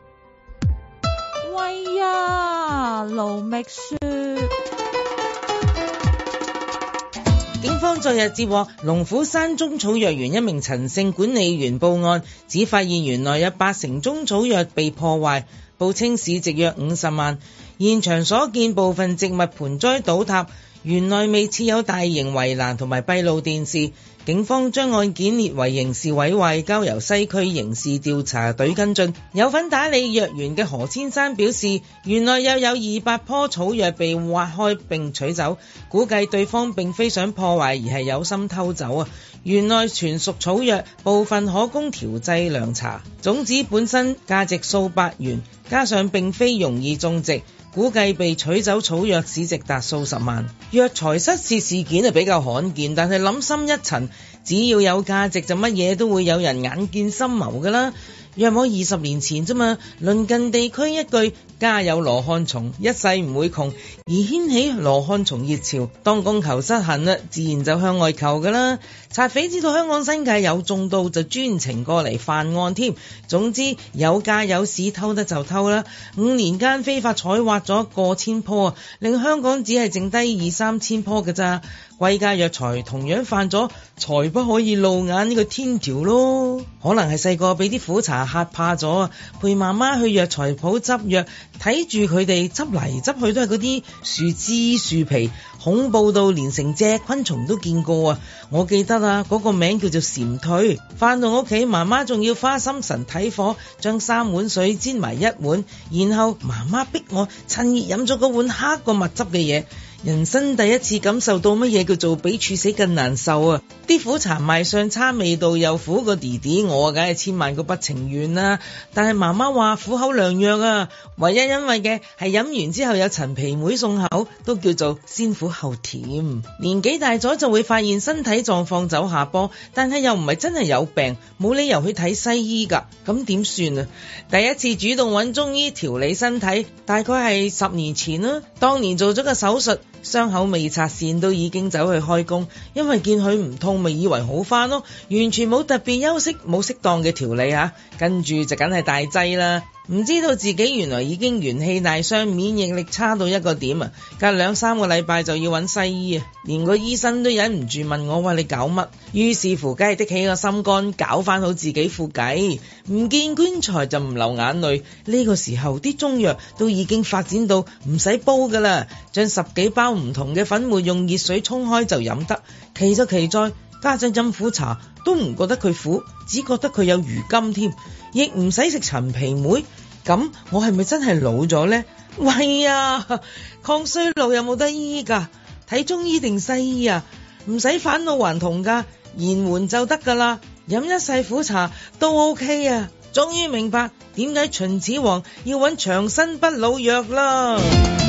喂呀，盧覓雪。警方昨日接獲龍虎山中草藥園一名陳姓管理員報案，只發現園內有80中草藥被破壞，報稱市值約50萬。現場所見部分植物盆栽倒塌， 園內未設有大型圍欄同埋閉路電視。警方將案件列為刑事毀壞，交由西區刑事調查隊跟進。有份打理藥園嘅何先生表示，園內又有200棵草藥被挖開並取走，估計對方並非想破壞，而係有心偷走啊！園內全屬草藥，部分可供調製涼茶，種子本身價值數百元，加上並非容易種植，估計被取走草藥市值達數十萬。藥材失竊事件係比較罕見，但係諗深一層，只要有價值就乜嘢都會有人眼見心謀㗎啦。約莫20年前啫嘛，鄰近地區一句家有羅漢松，一世唔會窮，而掀起羅漢松熱潮。當供求失衡啦，自然就向外求㗎啦。賊匪知道香港新界有種稻，就專程過嚟犯案添。總之有價有市，偷得就偷啦。5年間非法採挖咗過千棵啊，令香港只係剩低2-3千棵㗎咋。貴價藥材同樣犯咗財不可以露眼呢個天條咯。可能係細個俾啲苦茶嚇怕咗啊，陪媽媽去藥材鋪執藥，睇住佢哋執嚟執去都係嗰啲樹枝樹皮，恐怖到連成隻昆蟲都見過啊！我記得啊，嗰個名叫做蟬蛻。返到屋企，媽媽仲要花心神睇火，將3碗水煎埋1碗，然後媽媽逼我趁熱飲咗嗰碗黑過蜜汁嘅嘢。人生第一次感受到乜嘢叫做比處死更難受啊！啲苦茶賣相差，味道又苦過弟弟，我梗係千萬個不情願啦。但係媽媽話苦口良藥啊，唯一因為嘅係飲完之後有陳皮梅送口，都叫做先苦後甜。年紀大咗就會發現身體狀況走下坡，但係又唔係真係有病，冇理由去睇西醫㗎，咁點算啊？第一次主動揾中醫調理身體，大概係10年前啦。當年做咗個手術，傷口未拆線都已經走去開工，因為見佢唔痛咪以為好返咯，完全冇特別休息，冇適當嘅調理啊，跟住就梗係大劑啦。唔知道自己原來已經元氣大傷，免疫力差到一個點啊！隔2-3個禮拜就要揾西醫啊，連個醫生都忍唔住問我話你搞乜？於是乎梗係的起個心肝，搞翻好自己副計，唔見棺材就唔流眼淚。呢個時候啲中藥都已經發展到唔使煲噶啦，將10幾包唔同嘅粉末用熱水沖開就飲得。奇就奇在家陣飲苦茶都唔覺得佢苦，只覺得佢有餘甘添，亦唔使食陳皮梅。咁我係咪真係老咗呢？喂呀，抗衰老有冇得醫㗎？睇中醫定西醫啊？唔使返老還童㗎，延緩就得㗎啦。飲一世苦茶都 OK 啊！終於明白點解秦始皇要揾長生不老藥啦。